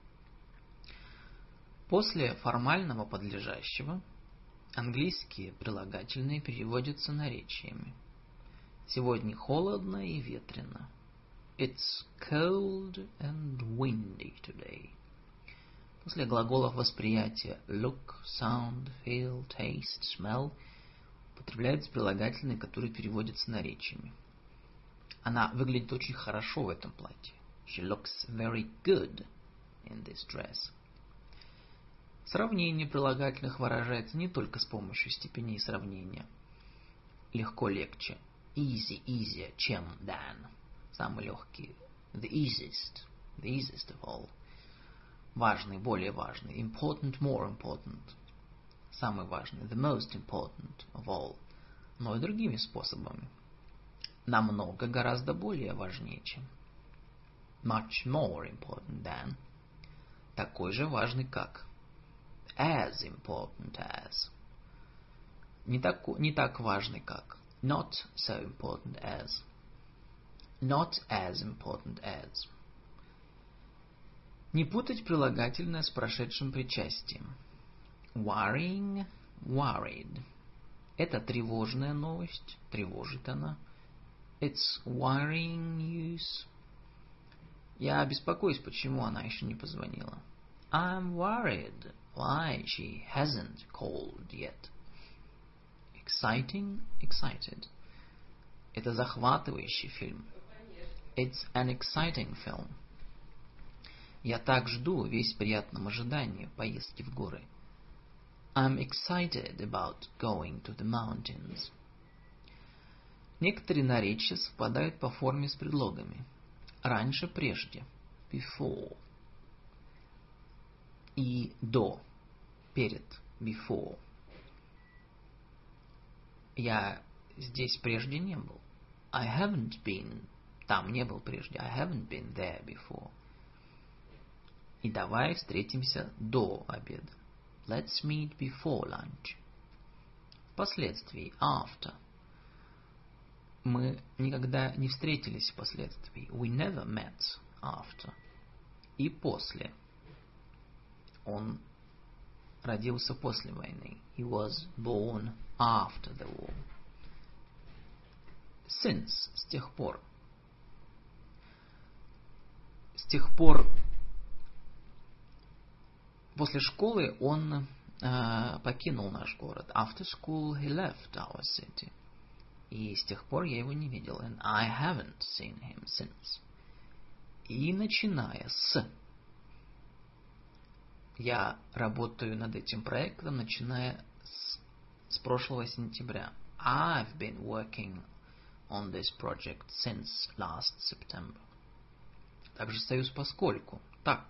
После формального подлежащего английские прилагательные переводятся наречиями. Сегодня холодно и ветрено. It's cold and windy today. После глаголов восприятия look, sound, feel, taste, smell употребляются прилагательные, которые переводятся наречиями. Она выглядит очень хорошо в этом платье. She looks very good in this dress. Сравнение прилагательных выражается не только с помощью степеней сравнения. Легко, легче. Easy, easier, чем, than. Самый легкий. The easiest of all. Важный, более важный. Important, more important. Самый важный. The most important of all. Но и другими способами. Намного, гораздо более важнее, чем. Much more important than. Такой же важный, как. As important as. Не так важный, как. Not so important as. Not as important as. Не путать прилагательное с прошедшим причастием. Worrying, worried. Это тревожная новость, тревожит она. It's worrying news. Я беспокоюсь, почему она еще не позвонила. I'm worried why she hasn't called yet. Exciting, excited. Это захватывающий фильм. It's an exciting film. Я так жду, весь в приятном ожидании поездки в горы. I'm excited about going to the mountains. Некоторые наречия совпадают по форме с предлогами. Раньше, прежде. Before. И до. Перед. Before. Я здесь прежде не был. I haven't been. Там не был прежде. I haven't been there before. И давай встретимся до обеда. Let's meet before lunch. Впоследствии. After. Мы никогда не встретились впоследствии. We never met after. И после. Он родился после войны. He was born after the war. Since. С тех пор. С тех пор после школы он покинул наш город. After school he left our city. И с тех пор я его не видел. And I haven't seen him since. И начиная с. Я работаю над этим проектом, начиная с прошлого сентября. I've been working on this project since last September. Также союз поскольку.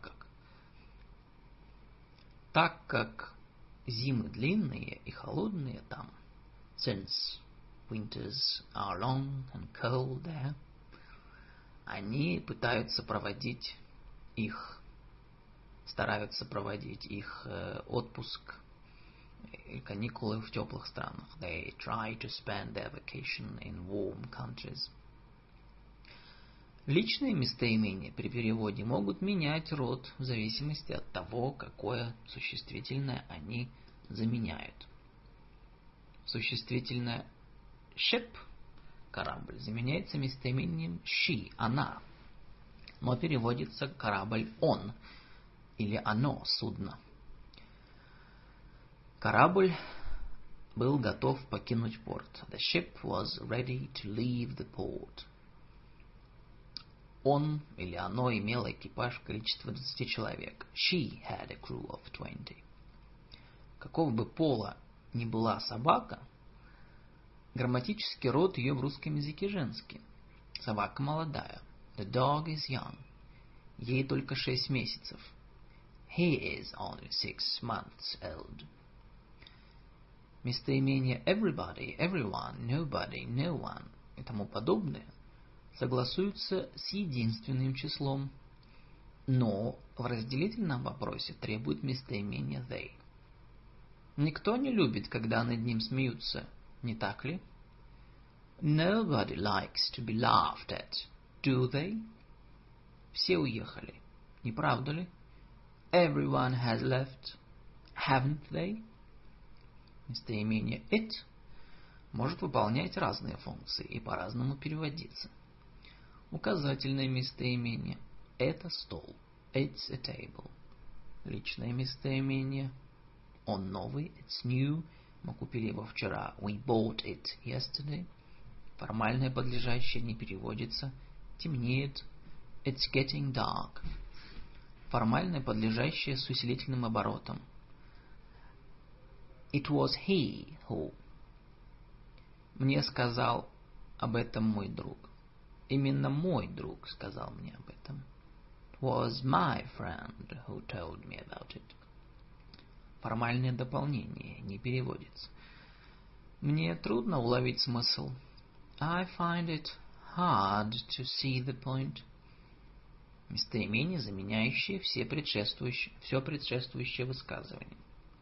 Так как зимы длинные и холодные там. Since winters are long and cold there. Они стараются проводить их отпуск и каникулы в теплых странах. They try to spend their vacation in warm countries. Личные местоимения при переводе могут менять род в зависимости от того, какое существительное они заменяют. Существительное ship, корабль, заменяется местоимением she, она, но переводится корабль он или оно, судно. Корабль был готов покинуть порт. The ship was ready to leave the port. Он или оно имело экипаж в количестве 20 человек. She had a crew of 20. Какого бы пола ни была собака, грамматический род ее в русском языке женский. Собака молодая. The dog is young. Ей только 6 месяцев. He is only 6 months old. Местоимения everybody, everyone, nobody, no one и тому подобное согласуются с единственным числом, но в разделительном вопросе требует местоимения they. Никто не любит, когда над ним смеются, не так ли? Nobody likes to be laughed at, do they? Все уехали, не правда ли? Everyone has left, haven't they? Местоимение it может выполнять разные функции и по-разному переводиться. Указательное местоимение – это стол, it's a table. Личное местоимение – он новый, it's new, мы купили его вчера, we bought it yesterday. Формальное подлежащее не переводится, темнеет, it's getting dark. Формальное подлежащее с усилительным оборотом. It was he who. Мне сказал об этом мой друг. Именно мой друг сказал мне об этом. It was my friend who told me about it. Формальное дополнение не переводится. Мне трудно уловить смысл. I find it hard to see the point. Местоимение, заменяющее все предшествующее высказывание.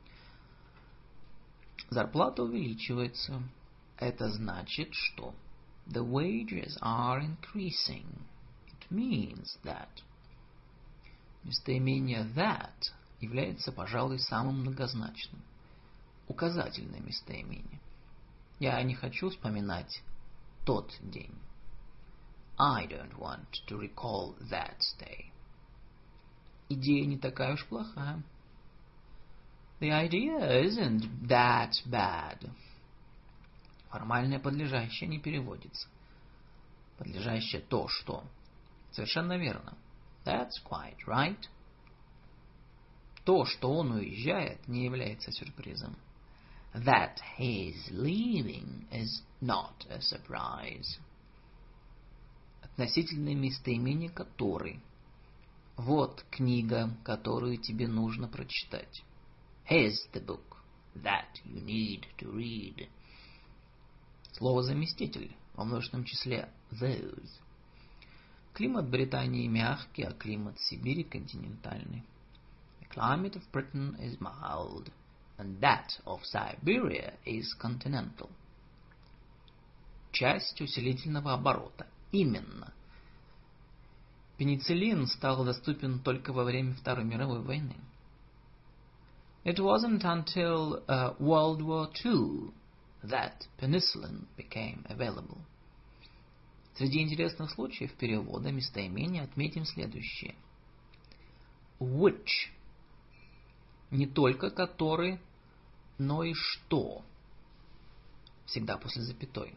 Зарплата увеличивается. Это значит, что the wages are increasing. It means that. Местоимение that является, пожалуй, самым многозначным. Указательное местоимение. Я не хочу вспоминать тот день. I don't want to recall that day. Идея не такая уж плохая. The idea isn't that bad. Формальное подлежащее не переводится. Подлежащее то, что. Совершенно верно. That's quite right. То, что он уезжает, не является сюрпризом. That he's leaving is not a surprise. Относительное местоимение который. Вот книга, которую тебе нужно прочитать. Here's the book that you need to read. Слово заместитель во множественном числе those. Климат Британии мягкий, а климат Сибири континентальный. The climate of Britain is mild, and that of Siberia is continental. Часть усилительного оборота. Именно. Пенициллин стал доступен только во время Второй мировой войны. It wasn't until World War II that penicillin became available. Среди интересных случаев перевода местоимения отметим следующее. Which. Не только который, но и что. Всегда после запятой.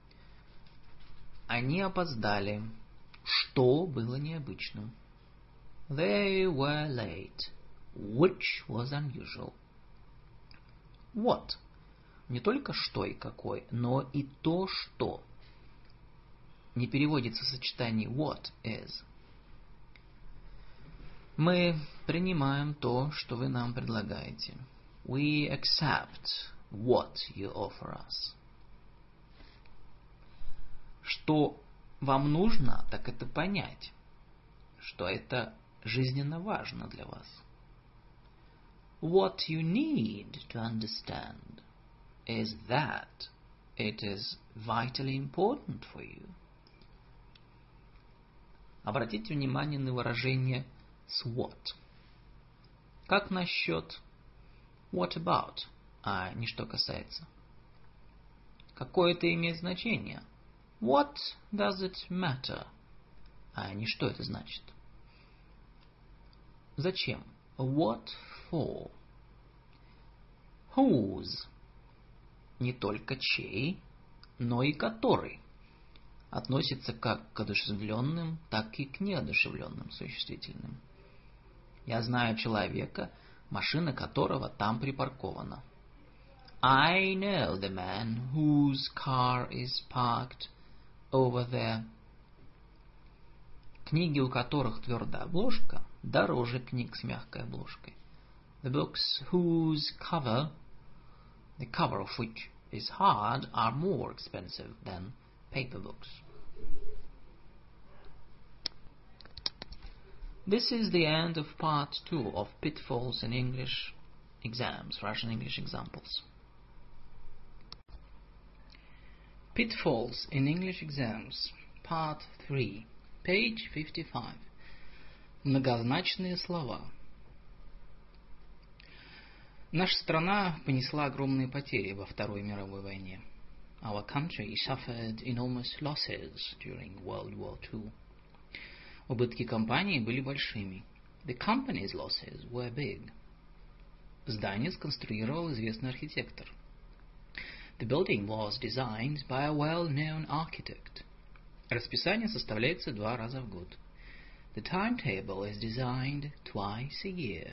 Они опоздали. Что было необычным. They were late, which was unusual. What. Не только что и какой, но и то, что. Не переводится в сочетании what is. Мы принимаем то, что вы нам предлагаете. We accept what you offer us. Что вам нужно, так это понять, что это жизненно важно для вас. What you need to understand is that it is vitally important for you. Обратите внимание на выражение с what. Как насчет what about, а не что касается? Какое это имеет значение? What does it matter? А не что это значит? Зачем? What for? Whose. Не только чей, но и который. Относится как к одушевленным, так и к неодушевленным существительным. Я знаю человека, машина которого там припаркована. I know the man whose car is parked over there. Книги, у которых твердая обложка, дороже книг с мягкой обложкой. The books whose cover, the cover of which is hard, are more expensive than paper books. This is the end of part 2 of Pitfalls in English Exams, Russian English Examples. Pitfalls in English Exams, part 3, page 55. Многозначные слова. Наша страна понесла огромные потери во Второй мировой войне. Our country suffered enormous losses during World War II. Убытки компании были большими. The company's losses were big. Здание сконструировал известный архитектор. The building was designed by a well-known architect. Расписание составляется 2 раза в год. The timetable is designed twice a year.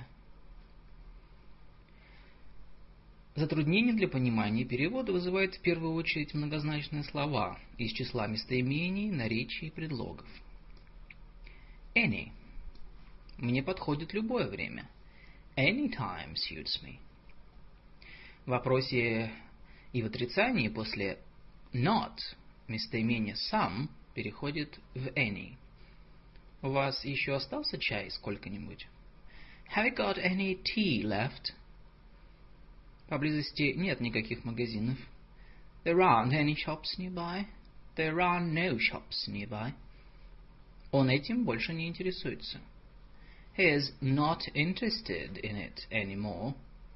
Затруднение для понимания перевода вызывает в первую очередь многозначные слова из числа местоимений, наречий и предлогов. Any. Мне подходит любое время. Any time suits me. В вопросе и в отрицании после not местоимение some переходит в any. У вас еще остался чай сколько-нибудь? Have you got any tea left? Поблизости нет никаких магазинов. There aren't any shops nearby. There are no shops nearby. Он этим больше не интересуется. He is not interested in it anymore.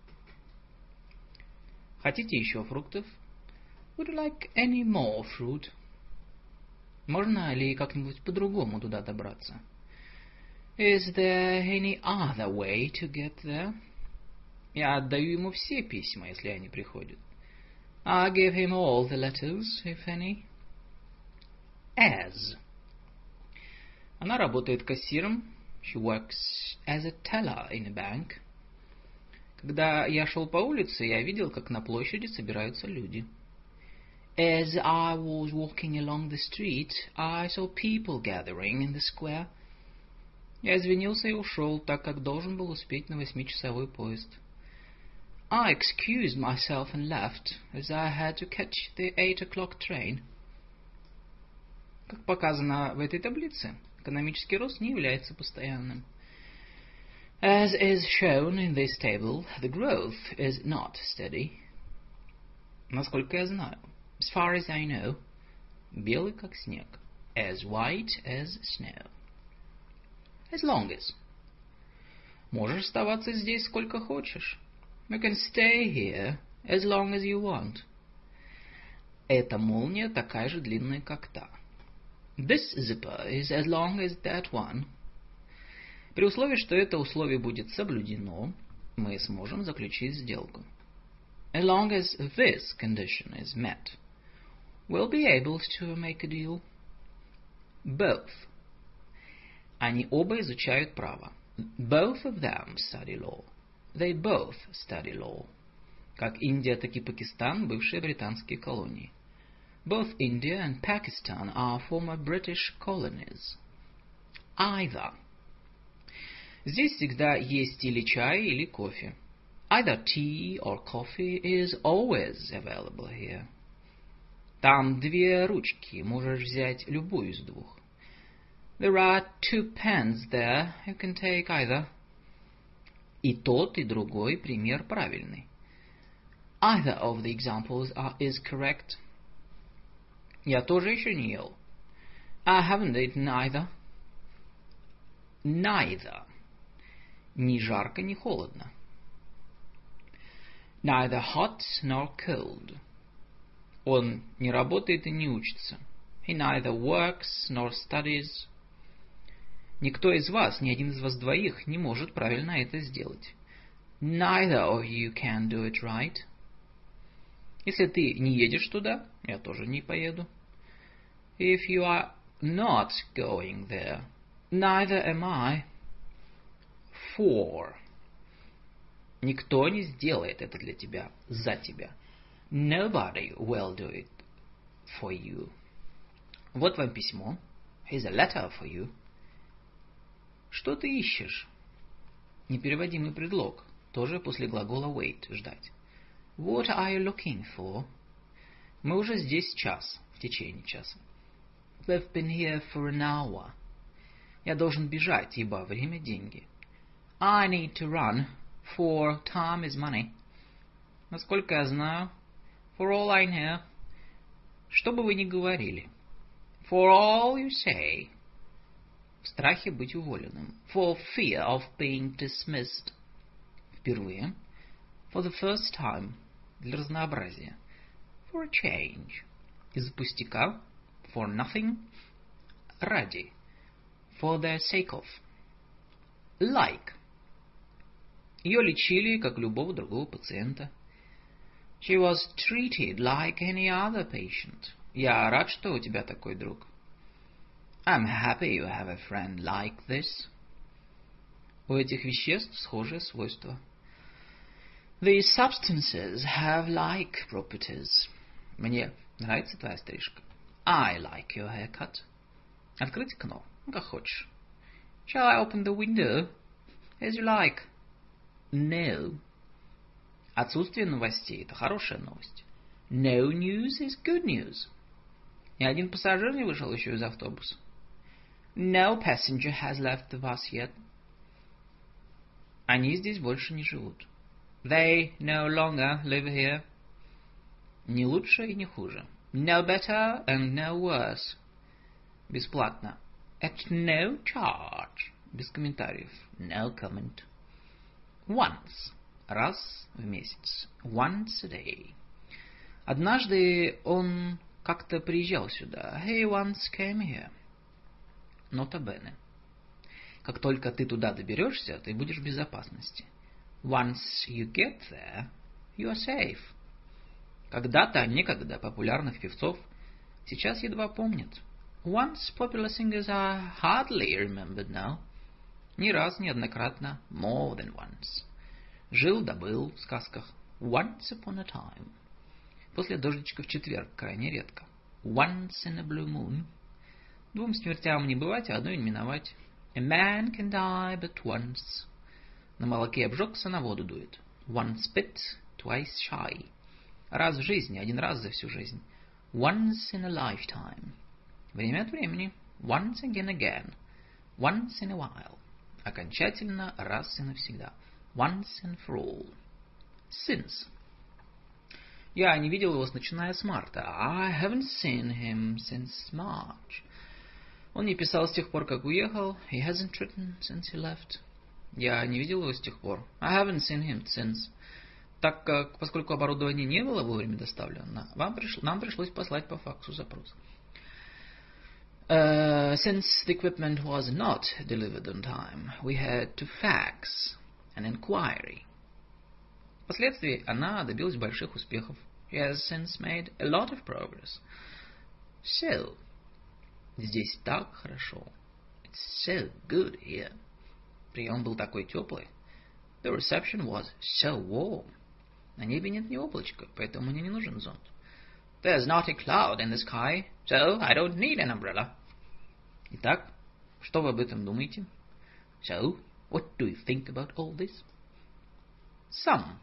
Хотите еще фруктов? Would you like any more fruit? Можно ли как-нибудь по-другому туда добраться? Is there any other way to get there? Я отдаю ему все письма, если они приходят. I give him all the letters, if any. As. Она работает кассиром. She works as a teller in a bank. Когда я шел по улице, я видел, как на площади собираются люди. As I was walking along the street, I saw people gathering in the square. Я извинился и ушел, так как должен был успеть на 8-часовой поезд. I excused myself and left, as I had to catch the 8 o'clock train. Как показано в этой таблице, экономический рост не является постоянным. As is shown in this table, the growth is not steady. Насколько я знаю, as far as I know, белый как снег, as white as snow. As long as. Можешь оставаться здесь сколько хочешь. You can stay here as long as you want. Эта молния такая же длинная, как та. This zipper is as long as that one. При условии, что это условие будет соблюдено, мы сможем заключить сделку. As long as this condition is met, we'll be able to make a deal. Both. Они оба изучают право. Both of them study law. They both study law. Как Индия, так и Пакистан – бывшие британские колонии. Both India and Pakistan are former British colonies. Either. Здесь всегда есть или чай, или кофе. Either tea or coffee is always available here. Там 2 ручки, можешь взять любую из 2. There are 2 pens there, you can take either. И тот, и другой пример правильный. Either of the examples is correct. Я тоже еще не ел. I haven't eaten either. Neither. Ни жарко, ни холодно. Neither hot nor cold. Он не работает и не учится. He neither works nor studies. Никто из вас, ни один из вас двоих, не может правильно это сделать. Neither of you can do it right. Если ты не едешь туда, я тоже не поеду. If you are not going there, neither am I. For. Никто не сделает это для тебя, за тебя. Nobody will do it for you. Вот вам письмо. Here's a letter for you. Что ты ищешь? Непереводимый предлог. Тоже после глагола wait, ждать. What are you looking for? Мы уже здесь час, в течение часа. We've been here for an hour. Я должен бежать, ибо время – деньги. I need to run, for time is money. Насколько я знаю, for all I know, что бы вы ни говорили. For all you say. В страхе быть уволенным. For fear of being dismissed. Впервые. For the first time. Для разнообразия. For a change. Из пустяка. For nothing. Ради. For the sake of. Like. Ее лечили, как любого другого пациента. She was treated like any other patient. Я рад, что у тебя такой друг. I'm happy you have a friend like this. У этих веществ схожие свойства. These substances have like properties. Мне нравится твоя стрижка. I like your haircut. Открыть окно, как хочешь. Shall I open the window? As you like. No. Отсутствие новостей – это хорошая новость. No news is good news. Ни один пассажир не вышел еще из автобуса. No passenger has left the bus yet. Они здесь больше не живут. They no longer live here. Не лучше и не хуже. No better and no worse. Бесплатно. At no charge. Без комментариев. No comment. Once. Раз в месяц. Once a day. Однажды он как-то приезжал сюда. He once came here. Nota bene. Как только ты туда доберешься, ты будешь в безопасности. Once you get there, you are safe. Когда-то, некогда популярных певцов сейчас едва помнят. Once popular singers are hardly remembered now. Не раз, неоднократно. More than once. Жил да был в сказках. Once upon a time. После дождичка в четверг крайне редко. Once in a blue moon. Двум смертям не бывать, а одной не миновать. A man can die but once. На молоке обжегся, на воду дует. Once bit, twice shy. Раз в жизни, один раз за всю жизнь. Once in a lifetime. Время от времени. Once again. Once in a while. Окончательно, раз и навсегда. Once and for all. Since. Я не видел его начиная с марта. I haven't seen him since March. Он не писал с тех пор, как уехал. He hasn't written since he left. Я не видел его с тех пор. I haven't seen him since. Так как, поскольку оборудование не было вовремя доставлено, нам пришлось послать по факсу запрос. Since the equipment was not delivered on time, we had to fax an inquiry. Впоследствии она добилась больших успехов. She has since made a lot of progress. So, здесь так хорошо. It's so good here. Прием был такой теплый. The reception was so warm. На небе нет ни облачка, поэтому мне не нужен зонт. There's not a cloud in the sky, so I don't need an umbrella. Итак, что вы об этом думаете? So, what do you think about all this? Some.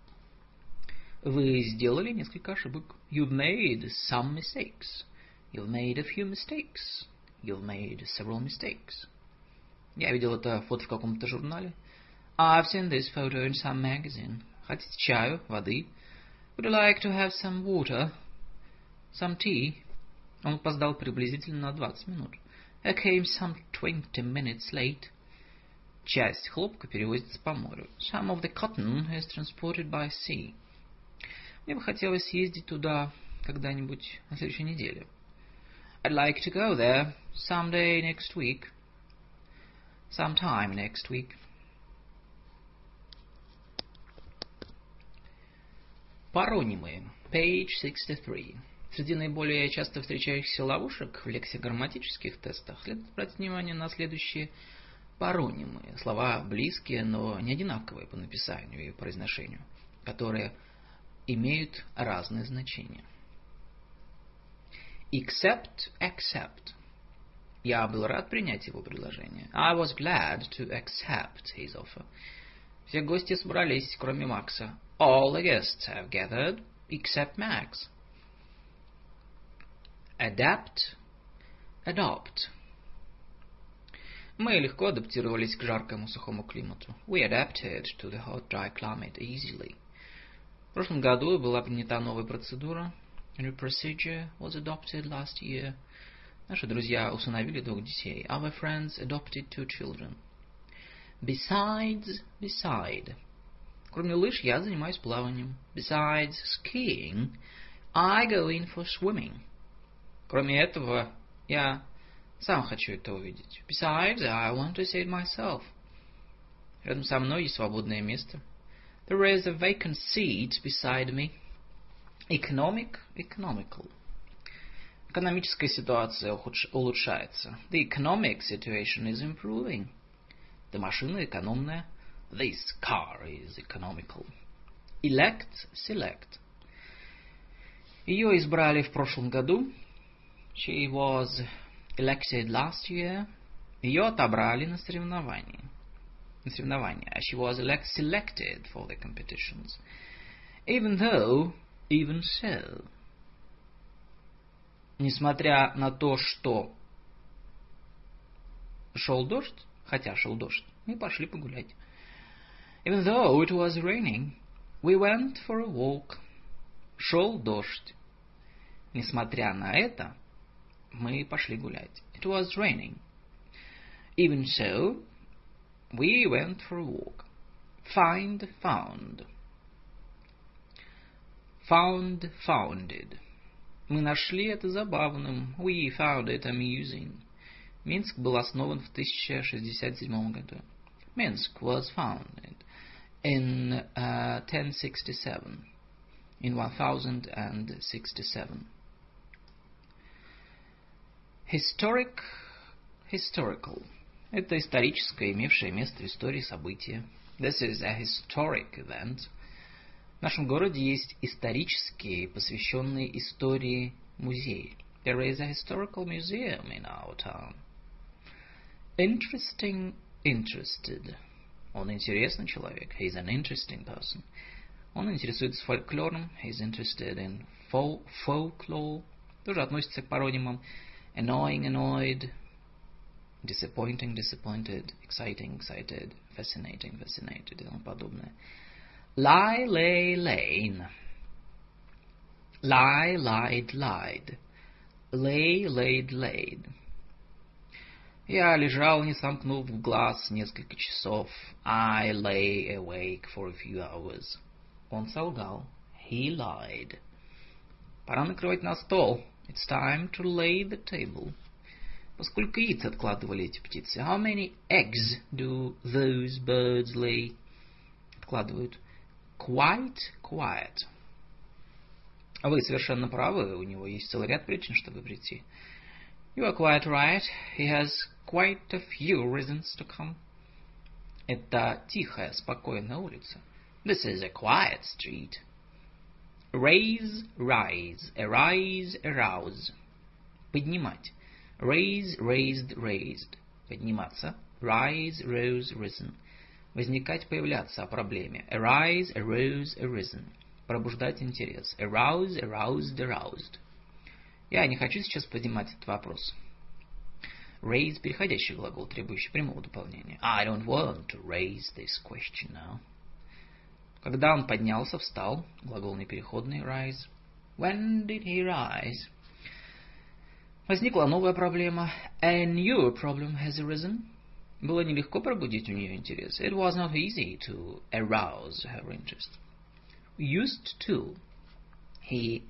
Вы сделали несколько ошибок. You've made some mistakes. You've made a few mistakes. You've made several mistakes. Я видел это фото в каком-то журнале. I've seen this photo in some magazine. Хотите чаю, воды? Would you like to have some water? Some tea? Он опоздал приблизительно на 20 минут. I came some 20 minutes late. Часть хлопка перевозится по морю. Some of the cotton is transported by sea. Мне бы хотелось съездить туда когда-нибудь на следующей неделе. I'd like to go there someday next week. Sometime next week. Паронимы. Page 63. Среди наиболее часто встречающихся ловушек в лексикограмматических тестах следует обратить внимание на следующие паронимы. Слова близкие, но не одинаковые по написанию и произношению, которые имеют разные значения. Except, accept. Я был рад принять его предложение. I was glad to accept his offer. Все гости собрались, кроме Макса. All the guests have gathered, except Max. Adapt, adopt. Мы легко адаптировались к жаркому сухому климату. We adapted to the hot, dry climate easily. В прошлом году была принята новая процедура. A new procedure was adopted last year. Наши друзья усыновили 2 детей. Our friends adopted 2 children. Besides, beside. Кроме лыж, я занимаюсь плаванием. Besides skiing, I go in for swimming. Кроме этого, я сам хочу это увидеть. Besides, I want to see it myself. Рядом со мной есть свободное место. There is a vacant seat beside me. Economical. Экономическая ситуация улучшается. The economic situation is improving. Эта машина экономная. This car is economical. Select. Ее избрали в прошлом году. She was elected last year. Ее отобрали на соревнования. She was selected for the competitions. Even so. Несмотря на то, что шел дождь, мы пошли погулять. Even though it was raining, we went for a walk. Шел дождь. Несмотря на это, мы пошли гулять. It was raining. Even so, we went for a walk. Found. Founded. Мы нашли это забавным. We found it amusing. Минск был основан в 1067 году. Minsk was founded in 1067. In 1067. Historical. Это историческое, имевшее место в истории событие. This is a historic event. В нашем городе есть исторические, посвященные истории музеи. There is a historical museum in our town. Interested. Он интересный человек. He is an interesting person. Он интересуется фольклором. He is interested in folklore. Тоже относится к паронимам. Annoying, annoyed. Disappointing, disappointed. Exciting, excited. Fascinating, fascinated. И тому подобное. Lie, lay, lain. Lie, lied, lied. Lay, laid, laid. Я лежал, не сомкнув глаз, несколько часов. I lay awake for a few hours. Он солгал. He lied. Пора накрывать на стол. It's time to lay the table. Поскольку яиц откладывали эти птицы? How many eggs do those birds lay? Откладывают. Quite quiet. Вы совершенно правы, у него есть целый ряд причин, чтобы прийти. You are quite right. He has quite a few reasons to come. Это тихая, спокойная улица. This is a quiet street. Raise, rise. Arise, arouse. Поднимать. Raise, raised, raised. Подниматься. Rise, rose, risen. Возникать, появляться о проблеме. Arise, arose, arisen. Пробуждать интерес. Arouse, aroused, aroused. Я не хочу сейчас поднимать этот вопрос. Raise – переходящий глагол, требующий прямого дополнения. I don't want to raise this question now. Когда он поднялся, встал, глагол непереходный, rise. When did he rise? Возникла новая проблема. A new problem has arisen. Было нелегко пробудить у нее интерес. It was not easy to arouse her interest. Used to. He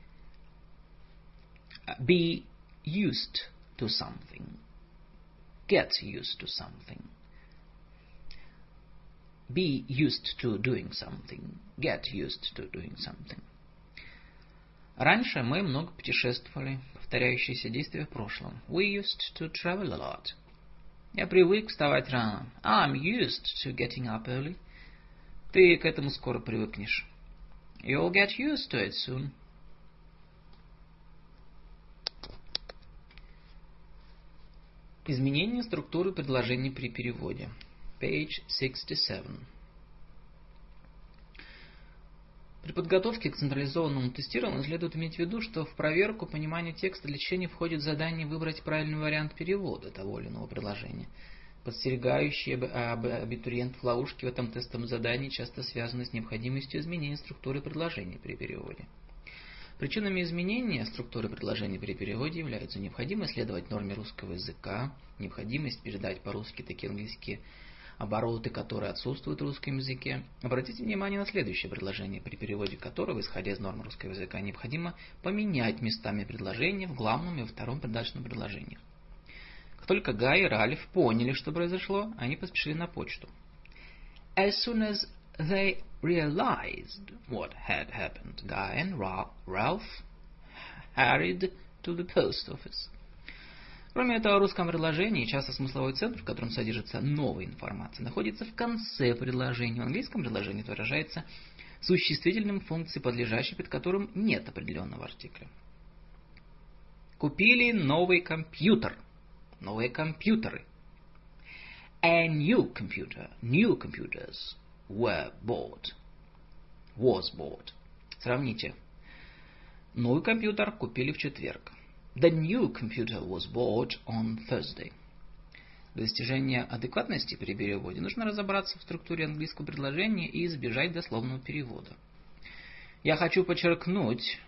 be used to something. Get used to something. Be used to doing something. Get used to doing something. Раньше мы много путешествовали. Повторяющиеся действия в прошлом. We used to travel a lot. Я привык вставать рано. I'm used to getting up early. Ты к этому скоро привыкнешь. You'll get used to it soon. Изменение структуры предложений при переводе. Page 67. При подготовке к централизованному тестированию следует иметь в виду, что в проверку понимания текста для чтения входит задание выбрать правильный вариант перевода того или иного предложения. подстерегающие абитуриентов ловушки в этом тестовом задании часто связаны с необходимостью изменения структуры предложений при переводе. Причинами изменения структуры предложений при переводе являются необходимость следовать норме русского языка, необходимость передать по-русски такие английские обороты, которые отсутствуют в русском языке. Обратите внимание на следующее предложение, при переводе которого, исходя из норм русского языка, необходимо поменять местами предложения в главном и во втором придаточном предложениях. Как только Гай и Ральф поняли, что произошло, они поспешили на почту. As soon as they realized what had happened, Guy and Ralph hurried to the post office. Кроме этого, в русском предложении часто смысловой центр, в котором содержится новая информация, находится в конце предложения. В английском предложении это выражается существительным функцией, подлежащей, под которым нет определенного артикля. Купили новый компьютер. Новые компьютеры. A new computer. New computers were bought. Was bought. Сравните. Новый компьютер купили в четверг. The new computer was bought on Thursday. Для достижения адекватности при переводе нужно разобраться в структуре английского предложения и избежать дословного перевода. Я хочу подчеркнуть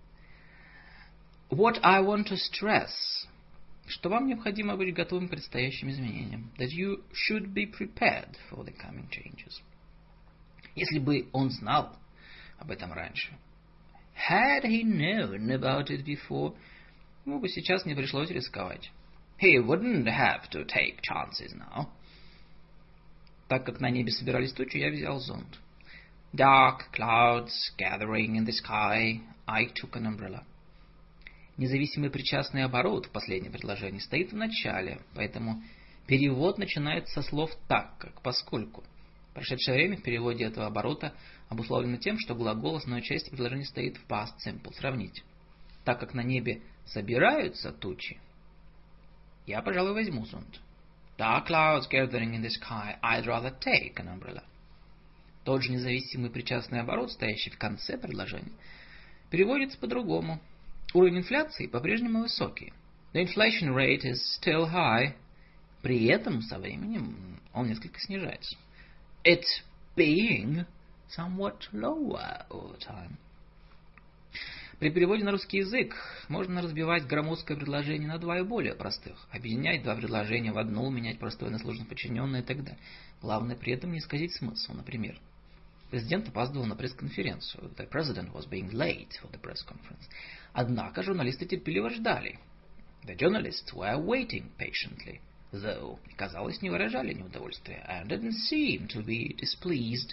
what I want to stress, что вам необходимо быть готовым к предстоящим изменениям. That you should be prepared for the coming changes. Если бы он знал об этом раньше. Had he known about it before, ему бы сейчас не пришлось рисковать. He wouldn't have to take chances now. Так как на небе собирались тучи, я взял зонт. Dark clouds gathering in the sky, I took an umbrella. Независимый причастный оборот в последнем предложении стоит в начале, поэтому перевод начинается со слов «так как», «поскольку». Прошедшее время в переводе этого оборота обусловлено тем, что глагол основной части предложения стоит в past simple. Сравните. Так как на небе собираются тучи, я, пожалуй, возьму зонт. Dark clouds gathering in the sky, I'd rather take an umbrella. Тот же независимый причастный оборот, стоящий в конце предложения, переводится по-другому. Уровень инфляции по-прежнему высокий. The inflation rate is still high. При этом со временем он несколько снижается. It's being somewhat lower over time. При переводе на русский язык можно разбивать громоздкое предложение на два и более простых, объединять два предложения в одно, менять простое на сложно подчиненное и так далее. Главное при этом не исказить смысл. Например, президент опаздывал на пресс-конференцию. The president was being late for the press conference. Однако журналисты терпеливо ждали. The journalists were waiting patiently, though, казалось, не выражали неудовольствия, and didn't seem to be displeased.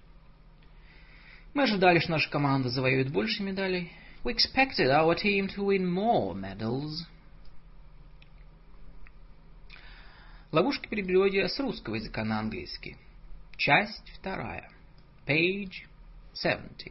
Мы ожидали, что наша команда завоюет больше медалей. We expected our team to win more medals. Ловушки при переводе с русского языка на английский. Часть 2. Page 70.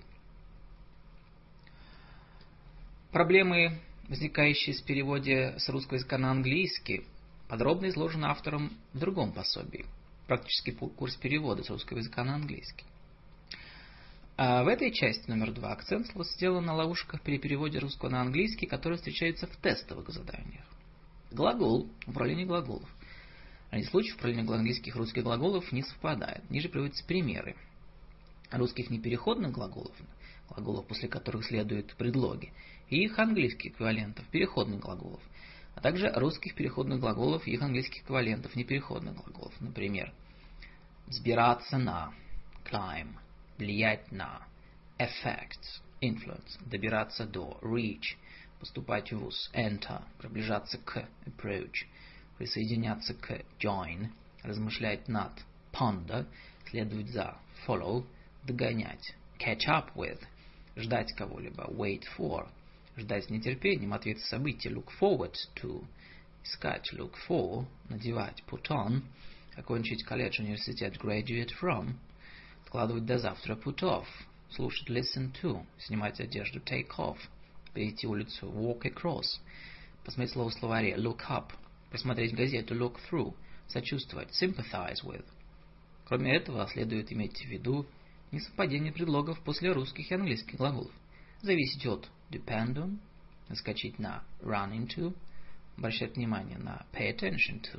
Проблемы, возникающие в переводе с русского языка на английский, подробно изложены автором в другом пособии. Практический курс перевода с русского языка на английский. А в этой части номер 2 акцент сделан на ловушках при переводе русского на английский, которые встречаются в тестовых заданиях. Глагол, управление глаголов. Ради случаев управления английских и русских глаголов не совпадает. Ниже приводятся примеры русских непереходных глаголов, глаголов, после которых следуют предлоги, и их английских эквивалентов, переходных глаголов, а также русских переходных глаголов и их английских эквивалентов, непереходных глаголов. Например, взбираться на, climb, влиять на, affect, influence, добираться до, reach, поступать в вуз, enter, приближаться к, approach, присоединяться к, join, размышлять над, ponder, следовать за, follow, догонять, catch up with, ждать кого-либо, wait for, ждать с нетерпением, ответ события, look forward to, искать, look for, надевать, put on, окончить колледж, университет, graduate from, откладывать до завтра, put off, слушать, listen to, снимать одежду, take off, перейти улицу, walk across, посмотреть слово в словаре, look up, посмотреть газету, look through, сочувствовать, sympathize with. Кроме этого, следует иметь в виду несовпадение предлогов после русских и английских глаголов. Зависеть от depend on, наскочить на run into, обращать внимание на pay attention to,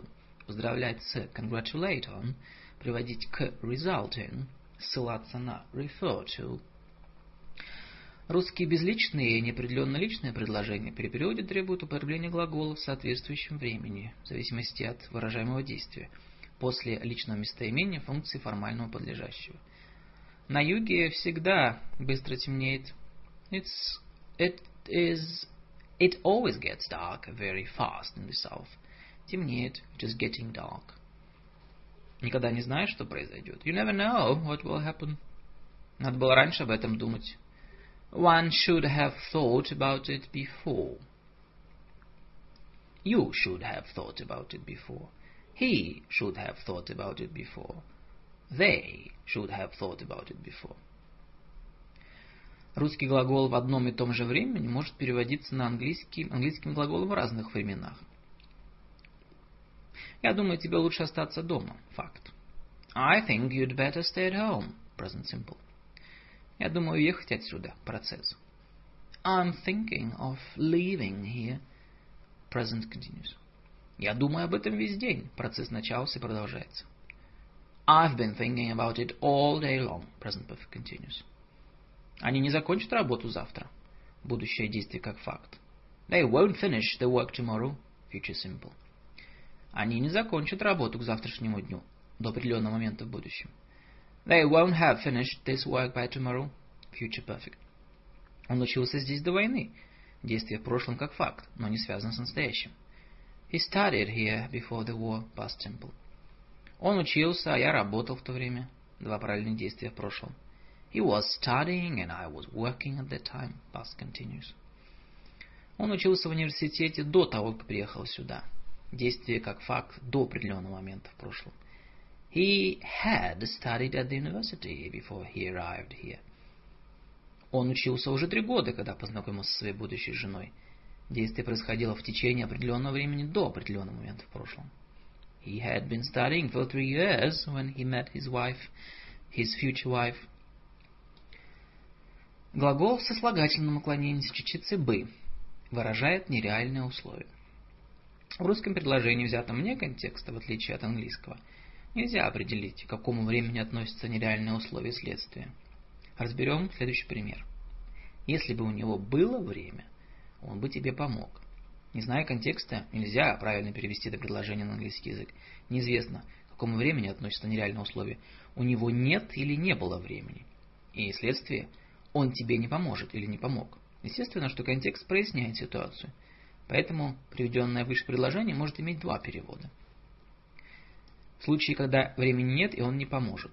поздравлять с congratulate on, приводить к resulting, ссылаться на refer to. Русские безличные и неопределенно личные предложения при переводе требуют употребления глагола в соответствующем времени, в зависимости от выражаемого действия, после личного местоимения функции формального подлежащего. На юге всегда быстро темнеет. It always gets dark very fast in the south. Темнеет. It is getting dark. Никогда не знаешь, что произойдет. You never know what will happen. Надо было раньше об этом думать. One should have thought about it before. You should have thought about it before. He should have thought about it before. They should have thought about it before. Русский глагол в одном и том же времени может переводиться на английским глаголом в разных временах. Я думаю, тебе лучше остаться дома. Факт. I think you'd better stay at home. Present simple. Я думаю уехать отсюда. Процесс. I'm thinking of leaving here. Present continuous. Я думаю об этом весь день. Процесс начался и продолжается. I've been thinking about it all day long. Present perfect continuous. Они не закончат работу завтра. Будущее действие как факт. They won't finish the work tomorrow. Future simple. Они не закончат работу к завтрашнему дню. До определенного момента в будущем. They won't have finished this work by tomorrow. Future perfect. Он учился здесь до войны. Действие в прошлом как факт, но не связано с настоящим. He studied here before the war. Past simple. Он учился, а я работал в то время. Два параллельных действия в прошлом. He was studying and I was working at that time. Past continuous. Он учился в университете до того, как приехал сюда. Действие как факт до определенного момента в прошлом. He had studied at the university before he arrived here. Он учился уже 3 года, когда познакомился со своей будущей женой. Действие происходило в течение определенного времени до определенного момента в прошлом. He had been studying for 3 years when he met his wife, his future wife. Глагол в сослагательном наклонении с частицей «бы» выражает нереальное условие. В русском предложении, взятом вне контекста, в отличие от английского, нельзя определить, к какому времени относится нереальное условие следствия. Разберем следующий пример. Если бы у него было время, он бы тебе помог. Не зная контекста, нельзя правильно перевести это предложение на английский язык. Неизвестно, к какому времени относится нереальное условие. У него нет или не было времени. И следствие, он тебе не поможет или не помог. Естественно, что контекст проясняет ситуацию. Поэтому приведенное выше предложение может иметь 2 перевода. В случае, когда времени нет и он не поможет.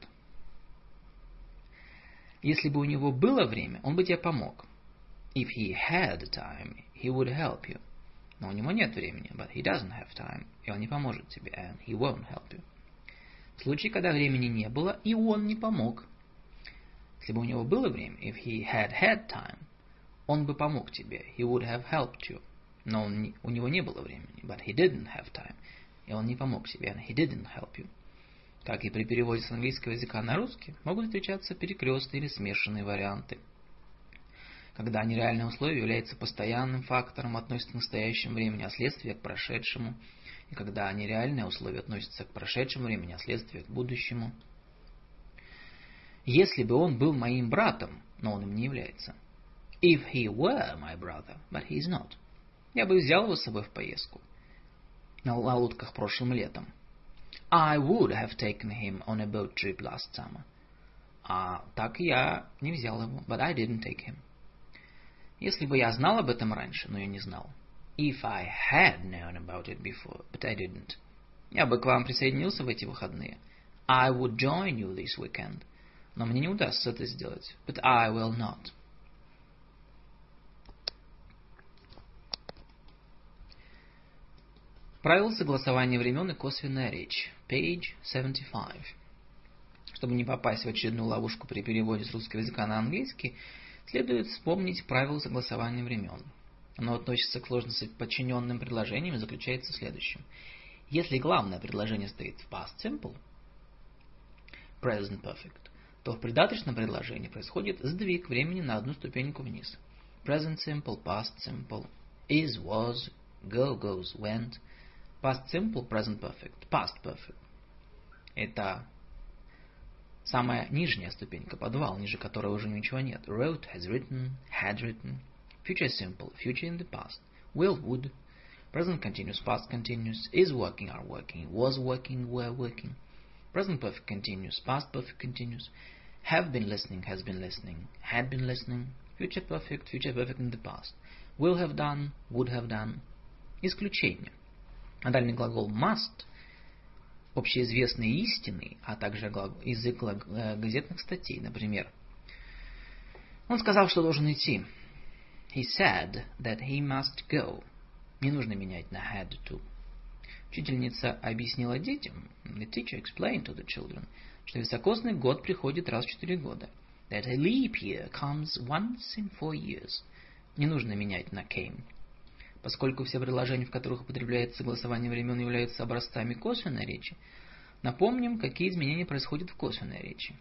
Если бы у него было время, он бы тебе помог. If he had time, he would help you. Но у него нет времени, but he doesn't have time, и он не поможет тебе, and he won't help you. В случае, когда времени не было, и он не помог. Если бы у него было время, if he had had time, он бы помог тебе, he would have helped you. Но у него не было времени, but he didn't have time, и он не помог тебе, and he didn't help you. Как и при переводе с английского языка на русский, могут встречаться перекрестные или смешанные варианты. Когда нереальное условие является постоянным фактором, относится к настоящему времени, а следствие к прошедшему. И когда нереальное условие относится к прошедшему времени, а следствие к будущему. Если бы он был моим братом, но он им не является. If he were my brother, but he is not. Я бы взял его с собой в поездку. На лодках прошлым летом. I would have taken him on a boat trip last summer. А так я не взял его, but I didn't take him. Если бы я знал об этом раньше, но я не знал. If I had known about it before, but I didn't. Я бы к вам присоединился в эти выходные. I would join you this weekend. Но мне не удастся это сделать. But I will not. Правила согласования времен и косвенная речь. Page 75. Чтобы не попасть в очередную ловушку при переводе с русского языка на английский, следует вспомнить правила согласования времен. Оно относится к сложно подчиненным предложениям и заключается в следующем. Если главное предложение стоит в past simple, present perfect, то в придаточном предложении происходит сдвиг времени на одну ступеньку вниз. Present simple, past simple, is, was, go, goes, went. Past simple, present perfect, past perfect. Это самая нижняя ступенька, подвал, ниже которой уже ничего нет. Wrote, has written, had written. Future simple, future in the past. Will, would. Present continuous, past continuous. Is working, are working. Was working, were working. Present perfect continuous, past perfect continuous. Have been listening, has been listening. Had been listening. Future perfect in the past. Will have done, would have done. Исключение. Модальный глагол must, общеизвестные истины, а также язык газетных статей. Например, он сказал, что должен идти. He said that he must go. Не нужно менять на had to. Учительница объяснила детям, the teacher explained to the children, что високосный год приходит раз в 4 года. That a leap year comes once in 4 years. Не нужно менять на came. Поскольку все предложения, в которых употребляется согласование времен, являются образцами косвенной речи, напомним, какие изменения происходят в косвенной речи.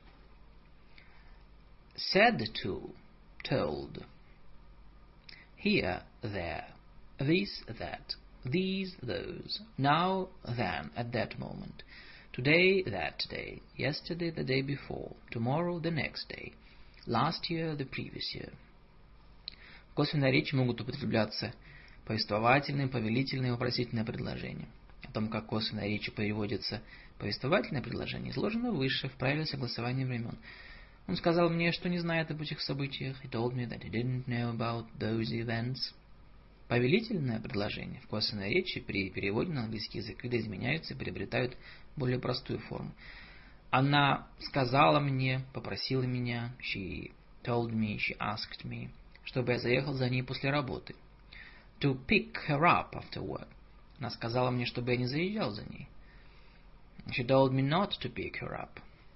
Said to, told. Here, there. This, that. These, those. Now, then, at that moment. Today, that day. Yesterday, the day before. Tomorrow, the next day. Last year, the previous year. В косвенной речи могут употребляться повествовательные, повелительные и вопросительные предложения. О том, как косвенной речи переводится повествовательное предложение, изложено выше в правиле согласования времен. Он сказал мне, что не знает об этих событиях. He told me that he didn't know about those events. Повелительное предложение в косвенной речи при переводе на английский язык видоизменяются и приобретают более простую форму. Она сказала мне, попросила меня, she told me, she asked me, чтобы я заехал за ней после работы. To pick her up after work. Она сказала мне, чтобы я не заезжал за ней. She told me not to pick her up.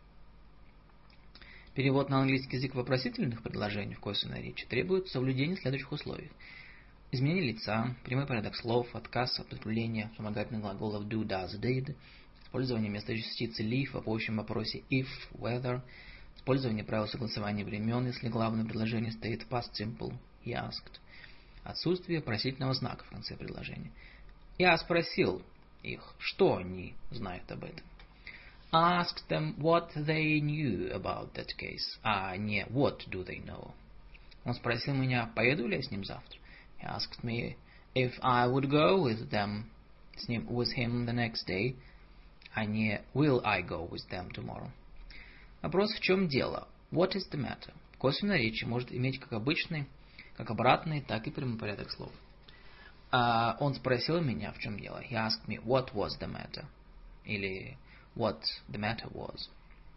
Перевод на английский язык вопросительных предложений в косвенной речи требует соблюдения следующих условий. Изменение лица, прямой порядок слов, отказ от употребления вспомогательных глаголов do, does, did, использование вместо частицы live в общем вопросе if, whether, использование правил согласования времен, если главное предложение стоит в past simple, he asked, отсутствие просительного знака в конце предложения. Я спросил их, что они знают об этом. Asked them what they knew about that case, а не what do they know. Он спросил меня, поеду ли я с ним завтра. He asked me if I would go with him the next day, а не will I go with them tomorrow. Вопрос, в чем дело? What is the matter? В косвенной речи может иметь как обычный, как обратный, так и прямой порядок слов. Он спросил меня, в чем дело. He asked me what was the matter. Или what the matter was.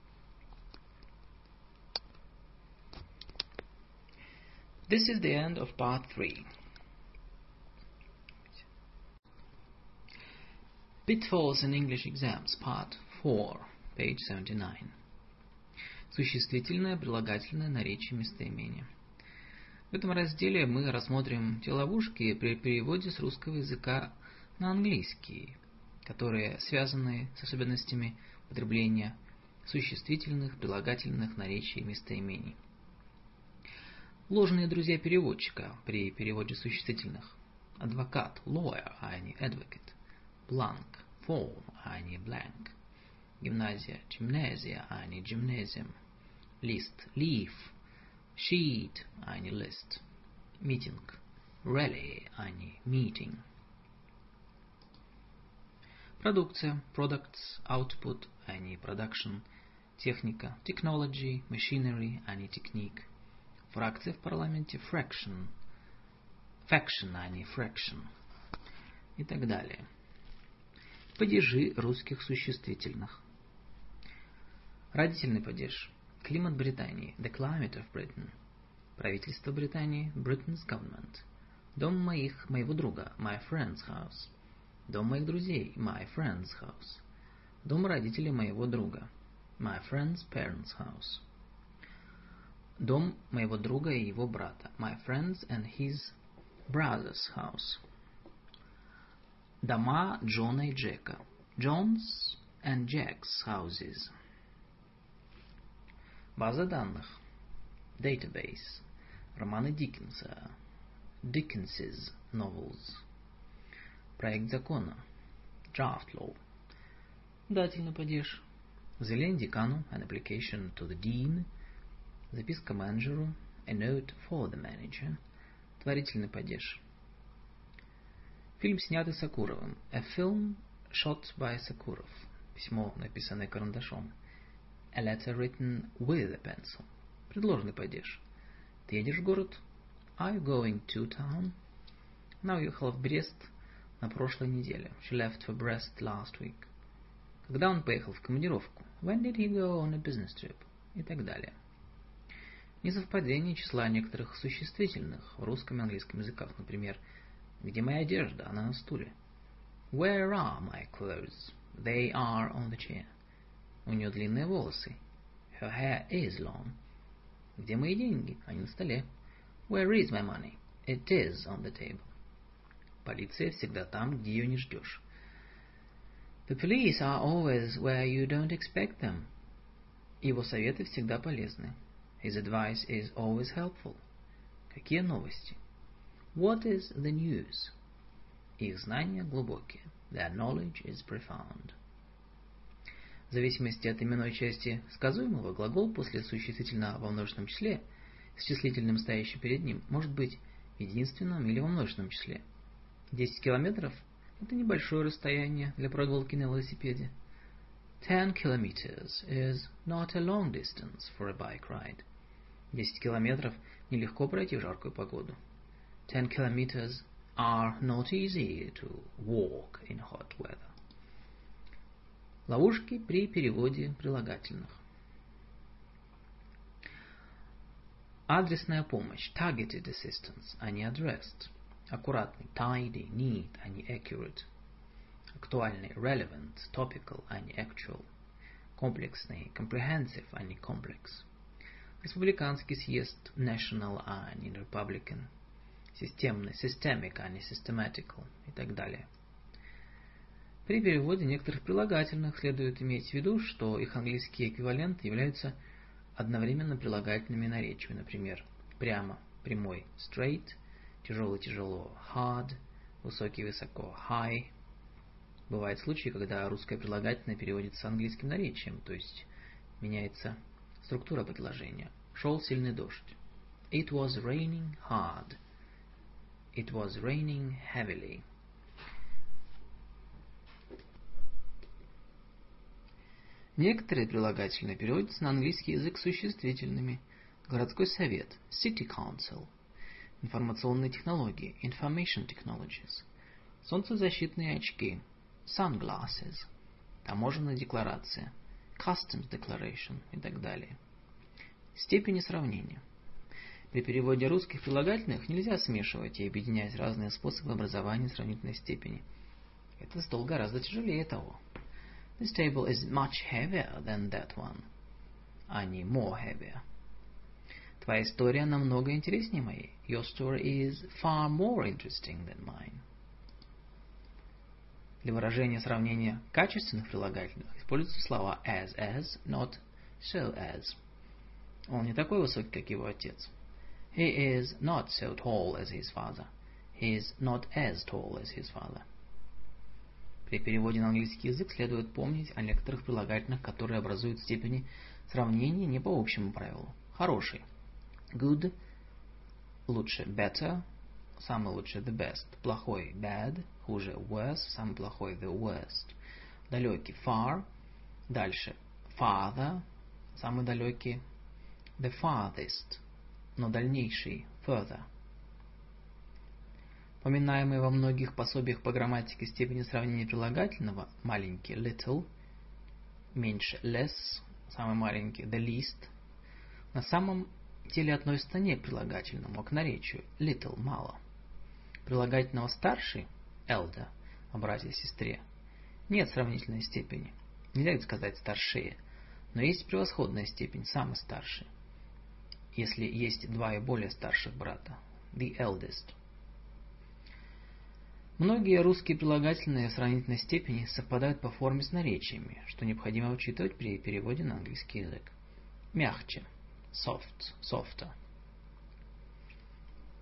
This is the end of part 3. Pitfalls in English Exams, part 4, page 79. Существительное, прилагательное, наречие, местоимение. В этом разделе мы рассмотрим те ловушки при переводе с русского языка на английский, которые связаны с особенностями употребления существительных, прилагательных, наречий и местоимений. Ложные друзья переводчика при переводе существительных. Адвокат, lawyer, а не advocate. Blank, form, а не blank. Гимназия, gymnasia, а не gymnasium. List, leaf, sheet, а не list. Meeting, rally, а не meeting. Продукция, products, output, а не production. Техника, technology, machinery, а не technique. Фракция в парламенте, fraction, faction, а не fraction. И так далее. Падежи русских существительных. Родительный падеж. Климат Британии. The climate of Britain. Правительство Британии. Britain's government. Дом моего друга. My friend's house. Дом моих друзей. My friend's house. Дом родителей моего друга. My friend's parents' house. Дом моего друга и его брата. My friend's and his brother's house. Дома Джона и Джека. John's and Jack's houses. База данных. Database. Романы Диккенса. Dickens's novels. Проект закона. draft law. Дательный падеж. Заявление декану, an application to the dean. Записка менеджеру, a note for the manager. Творительный падеж. Фильм, снятый Сокуровым, a film shot by Sakurov. Письмо, написанное карандашом, a letter written with a pencil. Предложный падеж. Ты едешь в город? Are you going to town? Она уехала в Брест на прошлой неделе. She left for Brest last week. Когда он поехал в командировку? When did he go on a business trip? И так далее. Несовпадение числа некоторых существительных в русском и английском языках. Например, где моя одежда? Она на стуле. Where are my clothes? They are on the chair. У нее длинные волосы. Her hair is long. Где мои деньги? Они на столе. Where is my money? It is on the table. Полиция всегда там, где ее не ждешь. The police are always where you don't expect them. Его советы всегда полезны. His advice is always helpful. Какие новости? What is the news? Их знания глубокие. Their knowledge is profound. В зависимости от именной части сказуемого, глагол после существительного во множественном числе с числительным, стоящим перед ним, может быть в единственном или во множественном числе. 10 километров – это небольшое расстояние для прогулки на велосипеде. 10 kilometers is not a long distance for a bike ride. 10 километров нелегко пройти в жаркую погоду. 10 kilometers are not easy to walk in hot weather. Ловушки при переводе прилагательных. Адресная помощь, targeted assistance, а не addressed. Аккуратный, tidy, neat, а не accurate. Актуальный, relevant, topical, а не actual. Комплексный, comprehensive, а не complex. Республиканский съезд, national, а не republican. Системный, systemic, а не systematical и так далее. При переводе некоторых прилагательных следует иметь в виду, что их английские эквиваленты являются одновременно прилагательными наречиями. Например, прямо, прямой, straight, тяжелый, тяжело, hard, высокий, высоко, high. Бывают случаи, когда русское прилагательное переводится с английским наречием, то есть меняется структура предложения. Шел сильный дождь. It was raining hard. It was raining heavily. Некоторые прилагательные переводятся на английский язык существительными. Городской совет, city council. Информационные технологии, information technologies. Солнцезащитные очки, sunglasses. Таможенная декларация, customs declaration и так далее. Степени сравнения. При переводе русских прилагательных нельзя смешивать и объединять разные способы образования сравнительной степени. Этот стол гораздо тяжелее того. This table is much heavier than that one. А не more heavier. Твоя история намного интереснее моей. Your story is far more interesting than mine. Для выражения сравнения качественных прилагательных используются слова as, not so as. Он не такой высокий, как его отец. He is not so tall as his father. He is not as tall as his father. При переводе на английский язык следует помнить о некоторых прилагательных, которые образуют степени сравнения не по общему правилу. Хороший. Good. Лучше. Better. Самый лучший. The best. Плохой. Bad. Хуже. Worse. Самый плохой. The worst. Далекий. Far. Дальше. Farther. Самый далекий. The farthest. Но дальнейший. Further. Поминаемые во многих пособиях по грамматике степени сравнения прилагательного маленький little, меньше less, самый маленький the least, на самом деле относятся не к прилагательному, а к наречию little мало. Прилагательного старший elder, о брате и сестре, нет сравнительной степени. Нельзя сказать старшие, но есть превосходная степень самый старший. Если есть два и более старших брата, the eldest. Многие русские прилагательные в сравнительной степени совпадают по форме с наречиями, что необходимо учитывать при переводе на английский язык. Мягче. Soft, softer.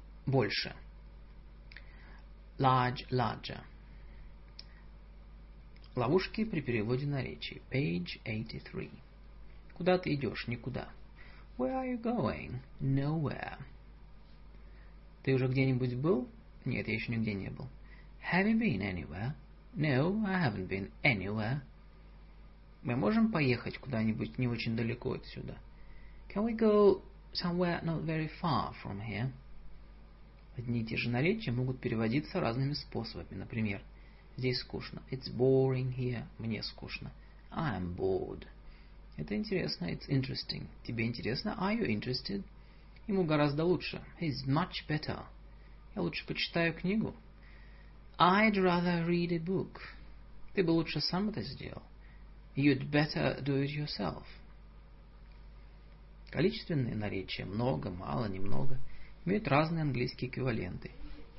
Больше. Large, larger. Ловушки при переводе наречий. Page 83. Куда ты идешь? Никуда. Where are you going? Nowhere. Ты уже где-нибудь был? Нет, я еще нигде не был. Have you been anywhere? No, I haven't been anywhere. Мы можем поехать куда-нибудь не очень далеко отсюда? Can we go somewhere not very far from here? Одни и те же наречия могут переводиться разными способами. Например, здесь скучно. It's boring here. Мне скучно. I'm bored. Это интересно. It's interesting. Тебе интересно? Are you interested? Ему гораздо лучше. He's much better. Я лучше почитаю книгу. I'd rather read a book. Ты бы лучше сам это сделал. You'd better do it yourself. Количественные наречия много, мало, немного имеют разные английские эквиваленты.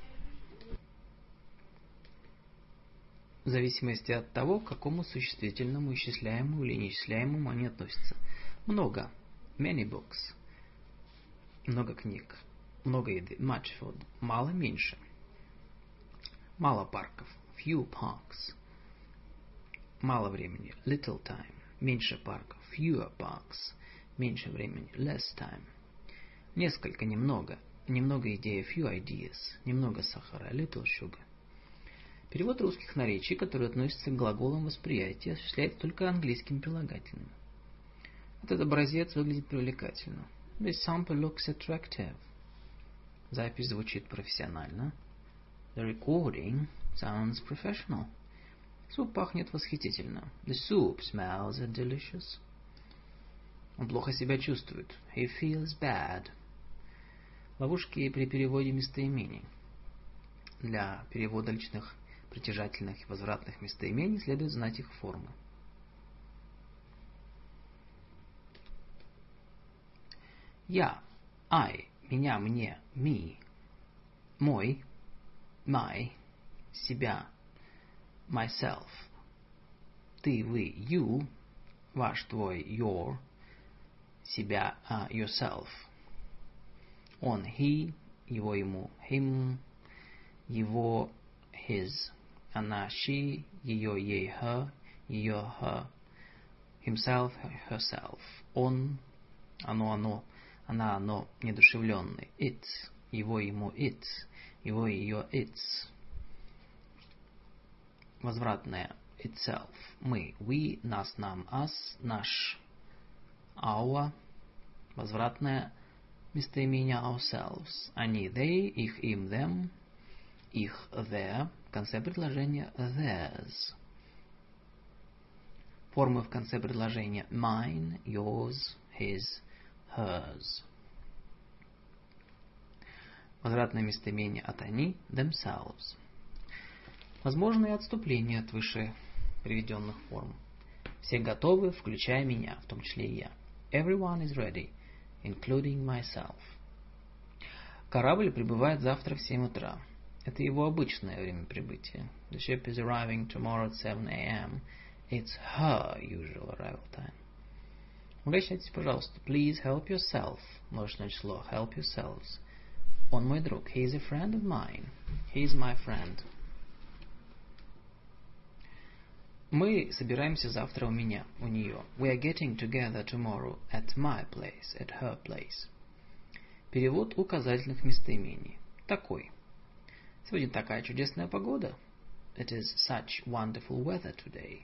В зависимости от того, к какому существительному, исчисляемому или неисчисляемому они относятся. Много. Many books. Много книг. Много еды. Much food. Мало, меньше. Мало парков. Few parks. Мало времени. Little time. Меньше парков. Fewer parks. Меньше времени. Less time. Несколько, немного. Немного идей. Few ideas. Немного сахара. Little sugar. Перевод русских наречий, которые относятся к глаголам восприятия, осуществляется только английским прилагательным. Этот образец выглядит привлекательно. This sample looks attractive. Запись звучит профессионально. The recording sounds professional. Суп пахнет восхитительно. The soup smells delicious. Он плохо себя чувствует. He feels bad. Ловушки при переводе местоимений. Для перевода личных притяжательных и возвратных местоимений следует знать их формы. Я, I, меня, мне, me, мой, my, себя, myself, ты, вы, you, ваш, твой, your, себя, yourself, он, he, его, ему, him, его, his, она, she, ее, ей, her, ее, her, himself, herself, он, оно, она, оно, неодушевленный, it, его, ему, it, его, ее, its, возвратное, itself, мы, we, нас, нам, us, наш, our, возвратное местоимение ourselves, они, they, их, им, them, их, their, в конце предложения theirs. Формы в конце предложения mine, yours, his, hers. Возвратное местоимение от они themselves. Возможны и отступления от выше приведенных форм. Все готовы, включая меня, в том числе и я. Everyone is ready, including myself. Корабль прибывает завтра в 7 утра. Это его обычное время прибытия. The ship is arriving tomorrow at 7 a.m. It's her usual arrival time. Обращайтесь, пожалуйста. Please help yourself. Множественное число. Help yourselves. Он мой друг. He is a friend of mine. He is my friend. Мы собираемся завтра у меня, у нее. We are getting together tomorrow at my place, at her place. Перевод указательных местоимений. Такой. Сегодня такая чудесная погода. It is such wonderful weather today.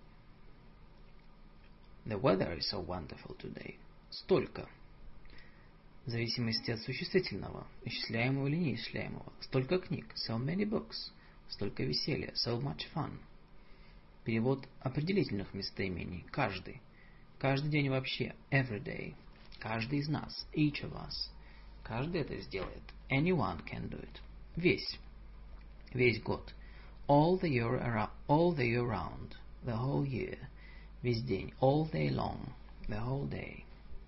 The weather is so wonderful today. Столько. В зависимости от существительного, исчисляемого или неисчисляемого. Столько книг. So many books. Столько веселья. So much fun. Перевод определительных местоимений. Каждый. Каждый день вообще. Every day. Каждый из нас. Each of us. Каждый это сделает. Anyone can do it. Весь. Весь год. All the year round. The whole year. Весь день. All day long. The whole day.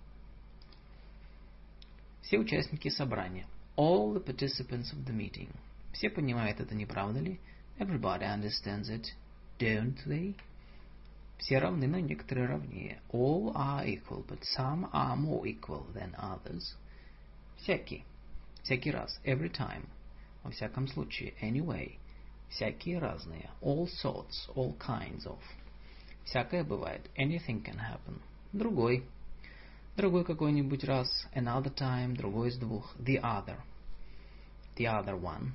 Все участники собрания. All the participants of the meeting. Все понимают это, не правда ли? Everybody understands it. Don't they? Все равны, но некоторые равнее. All are equal, but some are more equal than others. Всякий. Всякий раз. Every time. Во всяком случае. Anyway. Всякие разные. All sorts, all kinds of. Всякое бывает. Anything can happen. Другой. Другой какой-нибудь раз. Another time. Другой из двух. The other. The other one.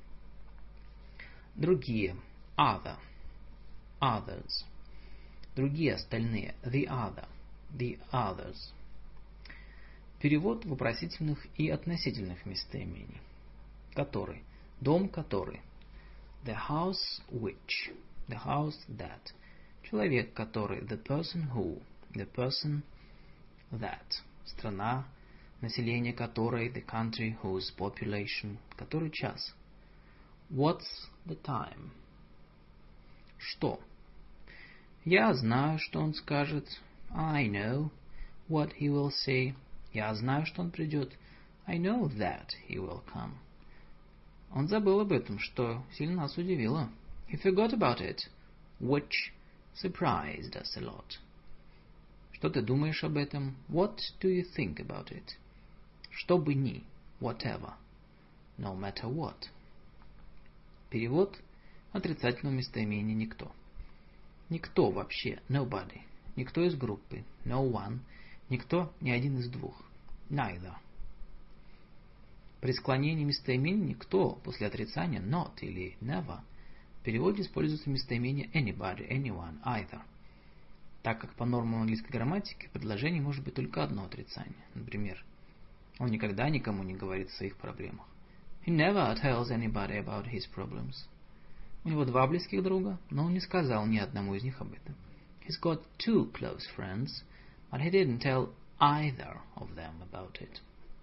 Другие. Other. Others. Другие остальные. The other. The others. Перевод вопросительных и относительных местоимений. Который. Дом который. The house which. The house that. Человек который. The person who. The person that. Страна, население которой. The country whose population. Который час. What's the time? Что? Я знаю, что он скажет. I know what he will say. Я знаю, что он придет. I know that he will come. Он забыл об этом, что сильно нас удивило. He forgot about it, which surprised us a lot. Что ты думаешь об этом? What do you think about it? Что бы ни, whatever, no matter what. Перевод отрицательного местоимения никто. Никто вообще, nobody. Никто из группы, no one. Никто, ни один из двух, neither. При склонении местоимения никто после отрицания not или never в переводе используется местоимение anybody, anyone, either. Так как по нормам английской грамматики в предложении может быть только одно отрицание. Например, он никогда никому не говорит о своих проблемах. He never tells anybody about his problems. У него два близких друга, но он не сказал ни одному из них об этом. He's got two close friends, but he didn't tell either of them about it.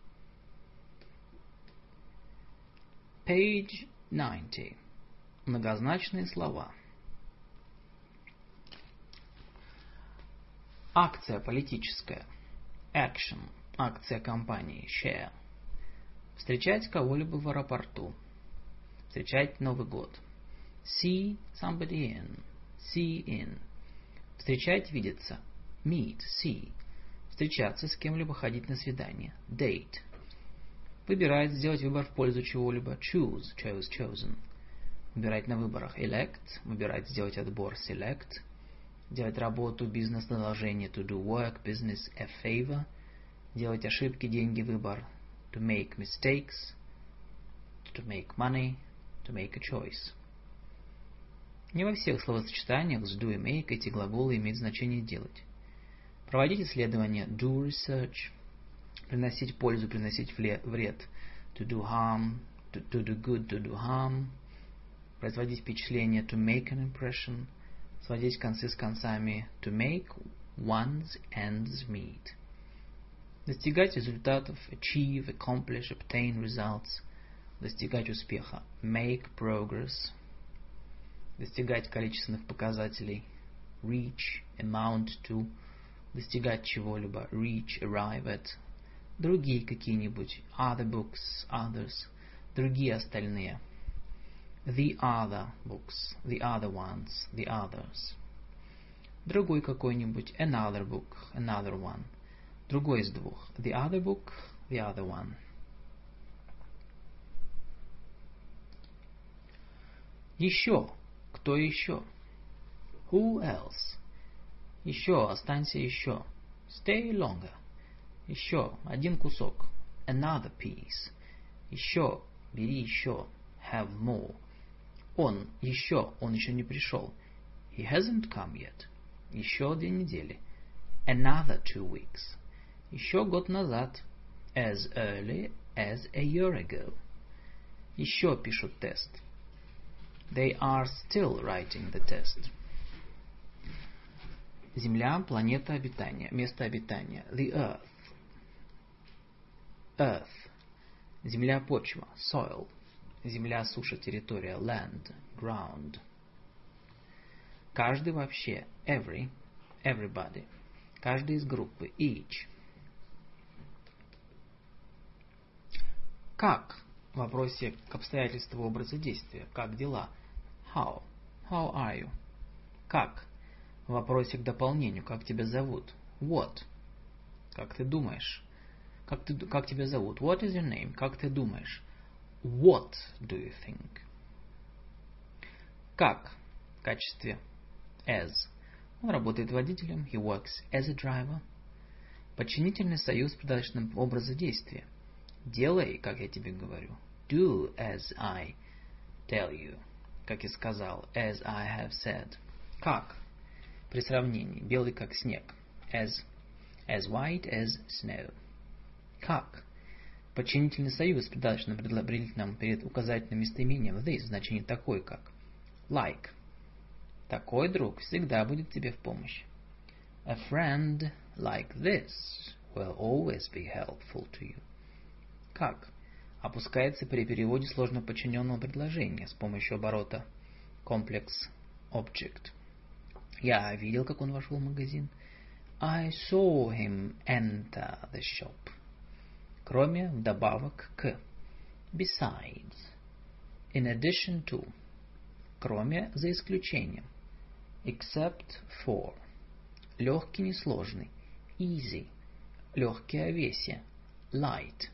Page 90. Многозначные слова. Акция политическая. Action. Акция компании. Share. Встречать кого-либо в аэропорту. Встречать Новый год. See somebody in. See in. Встречать, видеться. Meet, see. Встречаться с кем-либо, ходить на свидание. Date. Выбирать, сделать выбор в пользу чего-либо. Choose, chose, chosen. Выбирать на выборах. Elect. Выбирать, сделать отбор. Select. Делать работу, бизнес, продолжение. To do work, business, a favor. Делать ошибки, деньги, выбор. To make mistakes. To make money. To make a choice. Не во всех словосочетаниях с do и make эти глаголы имеют значение делать. Проводить исследования. Do research. Приносить пользу, приносить вред. To do harm. To do good, to do harm. Производить впечатление. To make an impression. Сводить концы с концами. To make one's ends meet. Достигать результатов. Achieve, accomplish, obtain results. Достигать успеха. Make progress. Достигать количественных показателей. Reach, amount to. Достигать чего-либо. Reach, arrive at. Другие какие-нибудь. Other books, others. Другие остальные. The other books, the other ones, the others. Другой какой-нибудь. Another book, another one. Другой из двух. The other book, the other one. Еще. Кто еще? Who else? Еще. Останься еще. Stay longer. Еще. Один кусок. Another piece. Еще. Бери еще. Have more. Он. Еще. Он еще не пришел. He hasn't come yet. Еще 2 недели. Another 2 weeks. Еще год назад. As early as a year ago. Еще пишут тест. They are still writing the test. Земля, планета обитания, место обитания. The earth. Earth. Земля, почва. Soil. Земля, суша, территория. Land. Ground. Каждый вообще. Every. Everybody. Каждый из группы. Each. Как? В вопросе к обстоятельству образа действия. Как дела? How? How are you? Как? В вопросе к дополнению. Как тебя зовут? What? Как ты думаешь? Как тебя зовут? What is your name? Как ты думаешь? What do you think? Как в качестве as. Он работает водителем. He works as a driver. Подчинительный союз придаточным образа действия. Делай, как я тебе говорю. Do as I tell you. Как я сказал. As I have said. Как? При сравнении. Белый как снег. As white as snow. Как? Подчинительный союз придаточным предопределительным перед указательным местоимением this в значении такой как. Like. Такой друг всегда будет тебе в помощь. A friend like this will always be helpful to you. Как? Опускается при переводе сложно подчиненного предложения с помощью оборота complex object. Я видел, как он вошел в магазин. I saw him enter the shop. Кроме, вдобавок к. Besides. In addition to. Кроме, за исключением. Except for. Легкий, несложный. Easy. Легкое light.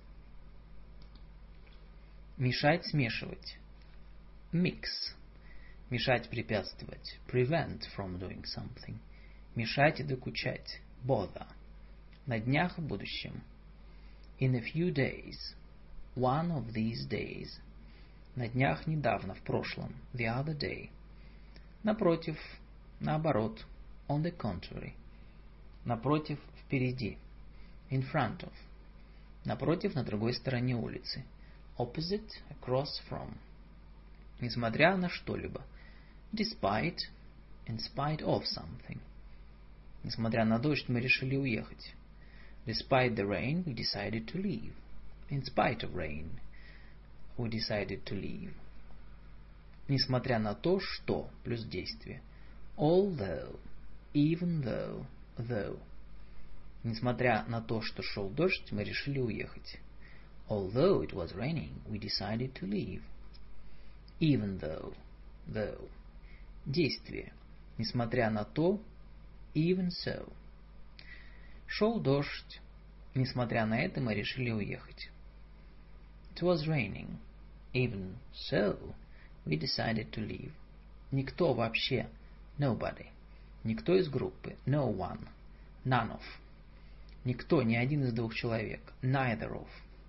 Мешать, смешивать. Mix. Мешать, препятствовать. Prevent from doing something. Мешать и докучать. Bother. На днях, в будущем. In a few days. One of these days. На днях, недавно, в прошлом. The other day. Напротив, наоборот. On the contrary. Напротив, впереди. In front of. Напротив, на другой стороне улицы. Opposite, across from. Несмотря на что-либо. Despite, in spite of something. Несмотря на дождь, мы решили уехать. Despite the rain, we decided to leave. In spite of rain, we decided to leave. Несмотря на то, что, плюс действие. Although, even though, though. Несмотря на то, что шел дождь, мы решили уехать. Although it was raining, we decided to leave. Even though, though. Действие. Несмотря на то, even so. Шел дождь. Несмотря на это, мы решили уехать. It was raining. Even so, we decided to leave. Никто вообще. Nobody. Никто из группы. No one. None of. Никто, ни один из двух человек. Neither of.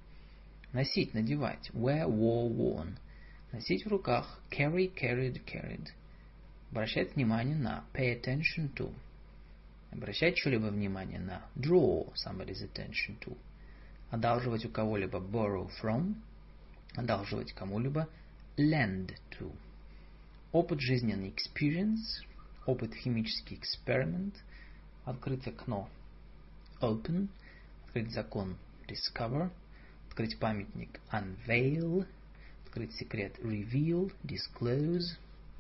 Носить, надевать. Wear, wore, worn. Носить в руках. Carry, carried, carried. Обращать внимание на. Pay attention to. Обращать что-либо внимание на. Draw somebody's attention to. Одалживать у кого-либо. Borrow from. Одалживать кому-либо. Lend to. Опыт жизненный. Experience. Опыт химический. Experiment. Открыть окно. Open. Открыть закон. Discover. Открыть памятник. Unveil. Открыть секрет. Reveal. Disclose.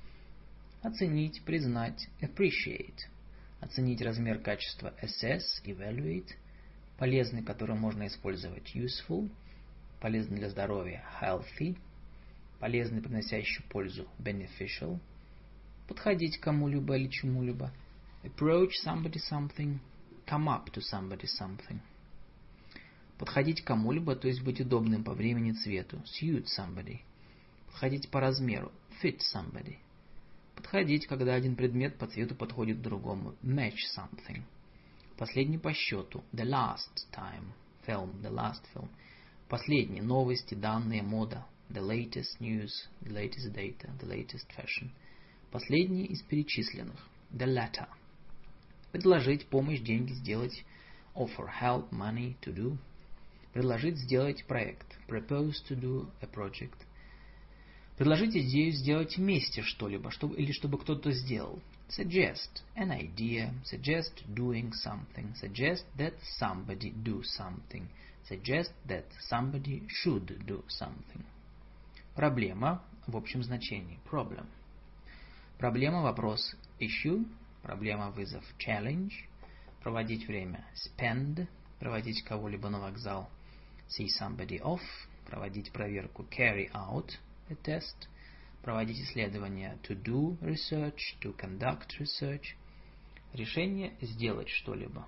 Оценить, признать. Appreciate. Оценить размер качества. Assess. Evaluate. Полезный, который можно использовать. Useful. Полезный для здоровья. Healthy. Полезный, приносящий пользу. Beneficial. Подходить к кому-либо или чему-либо. Approach somebody something. Come up to somebody something. Подходить к кому-либо, то есть быть удобным по времени, цвету. Suit somebody. Подходить по размеру. Fit somebody. Подходить, когда один предмет по цвету подходит к другому. Match something. Последний по счету. The last time. Film. The last film. Последний. Новости, данные, мода. The latest news. The latest data. The latest fashion. Последний из перечисленных. The latter. Предложить, помощь, деньги, сделать. Offer, help, money, to do. Предложить, сделать проект. Propose to do a project. Предложить идею сделать вместе что-либо, или чтобы кто-то сделал. Suggest an idea. Suggest doing something. Suggest that somebody do something. Suggest that somebody should do something. Проблема в общем значении. Problem. Проблема, вопрос. Issue. Проблема, вызов. Challenge. Проводить время. Spend. Проводить кого-либо на вокзал. See somebody off. Проводить проверку. Carry out a test. Проводить исследования. To do research. To conduct research. Решение сделать что-либо.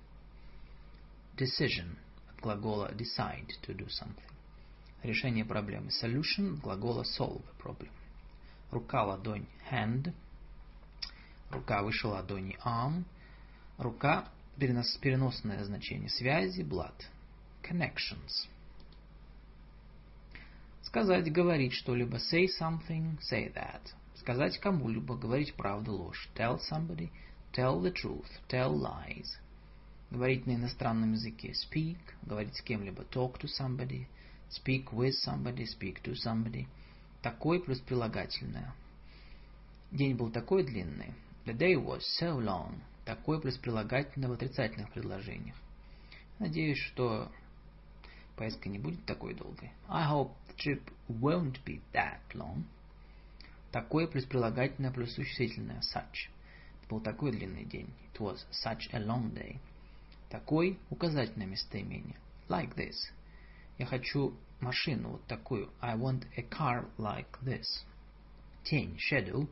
Decision. От глагола decide to do something. Решение проблемы. Solution. От глагола solve a problem. Рука, ладонь, hand. Рука выше ладони, arm. Рука, переносное значение, связи, blood. Connections. Сказать, говорить что-либо, say something, say that. Сказать кому-либо, говорить правду, ложь. Tell somebody, tell the truth, tell lies. Говорить на иностранном языке, speak. Говорить с кем-либо, talk to somebody. Speak with somebody, speak to somebody. Такой плюс прилагательное. День был такой длинный. The day was so long. Такой плюс прилагательное в отрицательных предложениях. Надеюсь, что поездка не будет такой долгой. I hope the trip won't be that long. Такой плюс прилагательное плюс существительное. Such. Это был такой длинный день. It was such a long day. Такой указательное местоимение. Like this. Я хочу машину вот такую. I want a car like this. Тень. Shadow.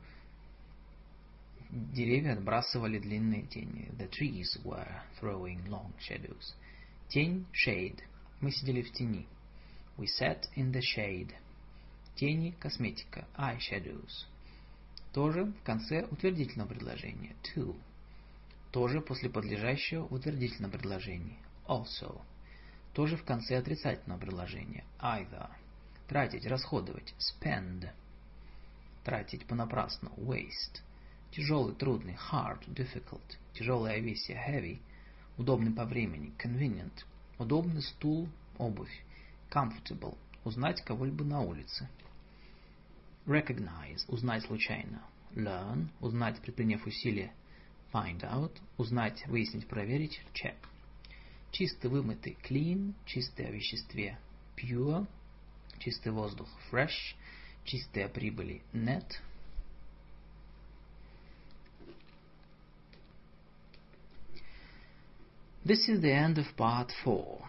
Деревья отбрасывали длинные тени. The trees were throwing long shadows. Тень. Shade. Мы сидели в тени. We sat in the shade. Тени. Косметика. Eyeshadows. Тоже в конце утвердительного предложения. To. Тоже после подлежащего утвердительного предложения. Also. Тоже в конце отрицательного предложения. Either. Тратить, расходовать. Spend. Тратить понапрасну. Waste. Тяжелый, трудный. Hard, difficult. Тяжелая овесье. Heavy. Удобный по времени. Convenient. Удобный стул, обувь. Comfortable. Узнать кого-либо на улице. Recognize. Узнать случайно. Learn. Узнать, предприняв усилие. Find out. Узнать, выяснить, проверить. Check. Чистый, вымытый. Clean. Чистый о веществе. Pure. Чистый воздух. Fresh. Чистый о прибыли. Net. This is the end of part 4.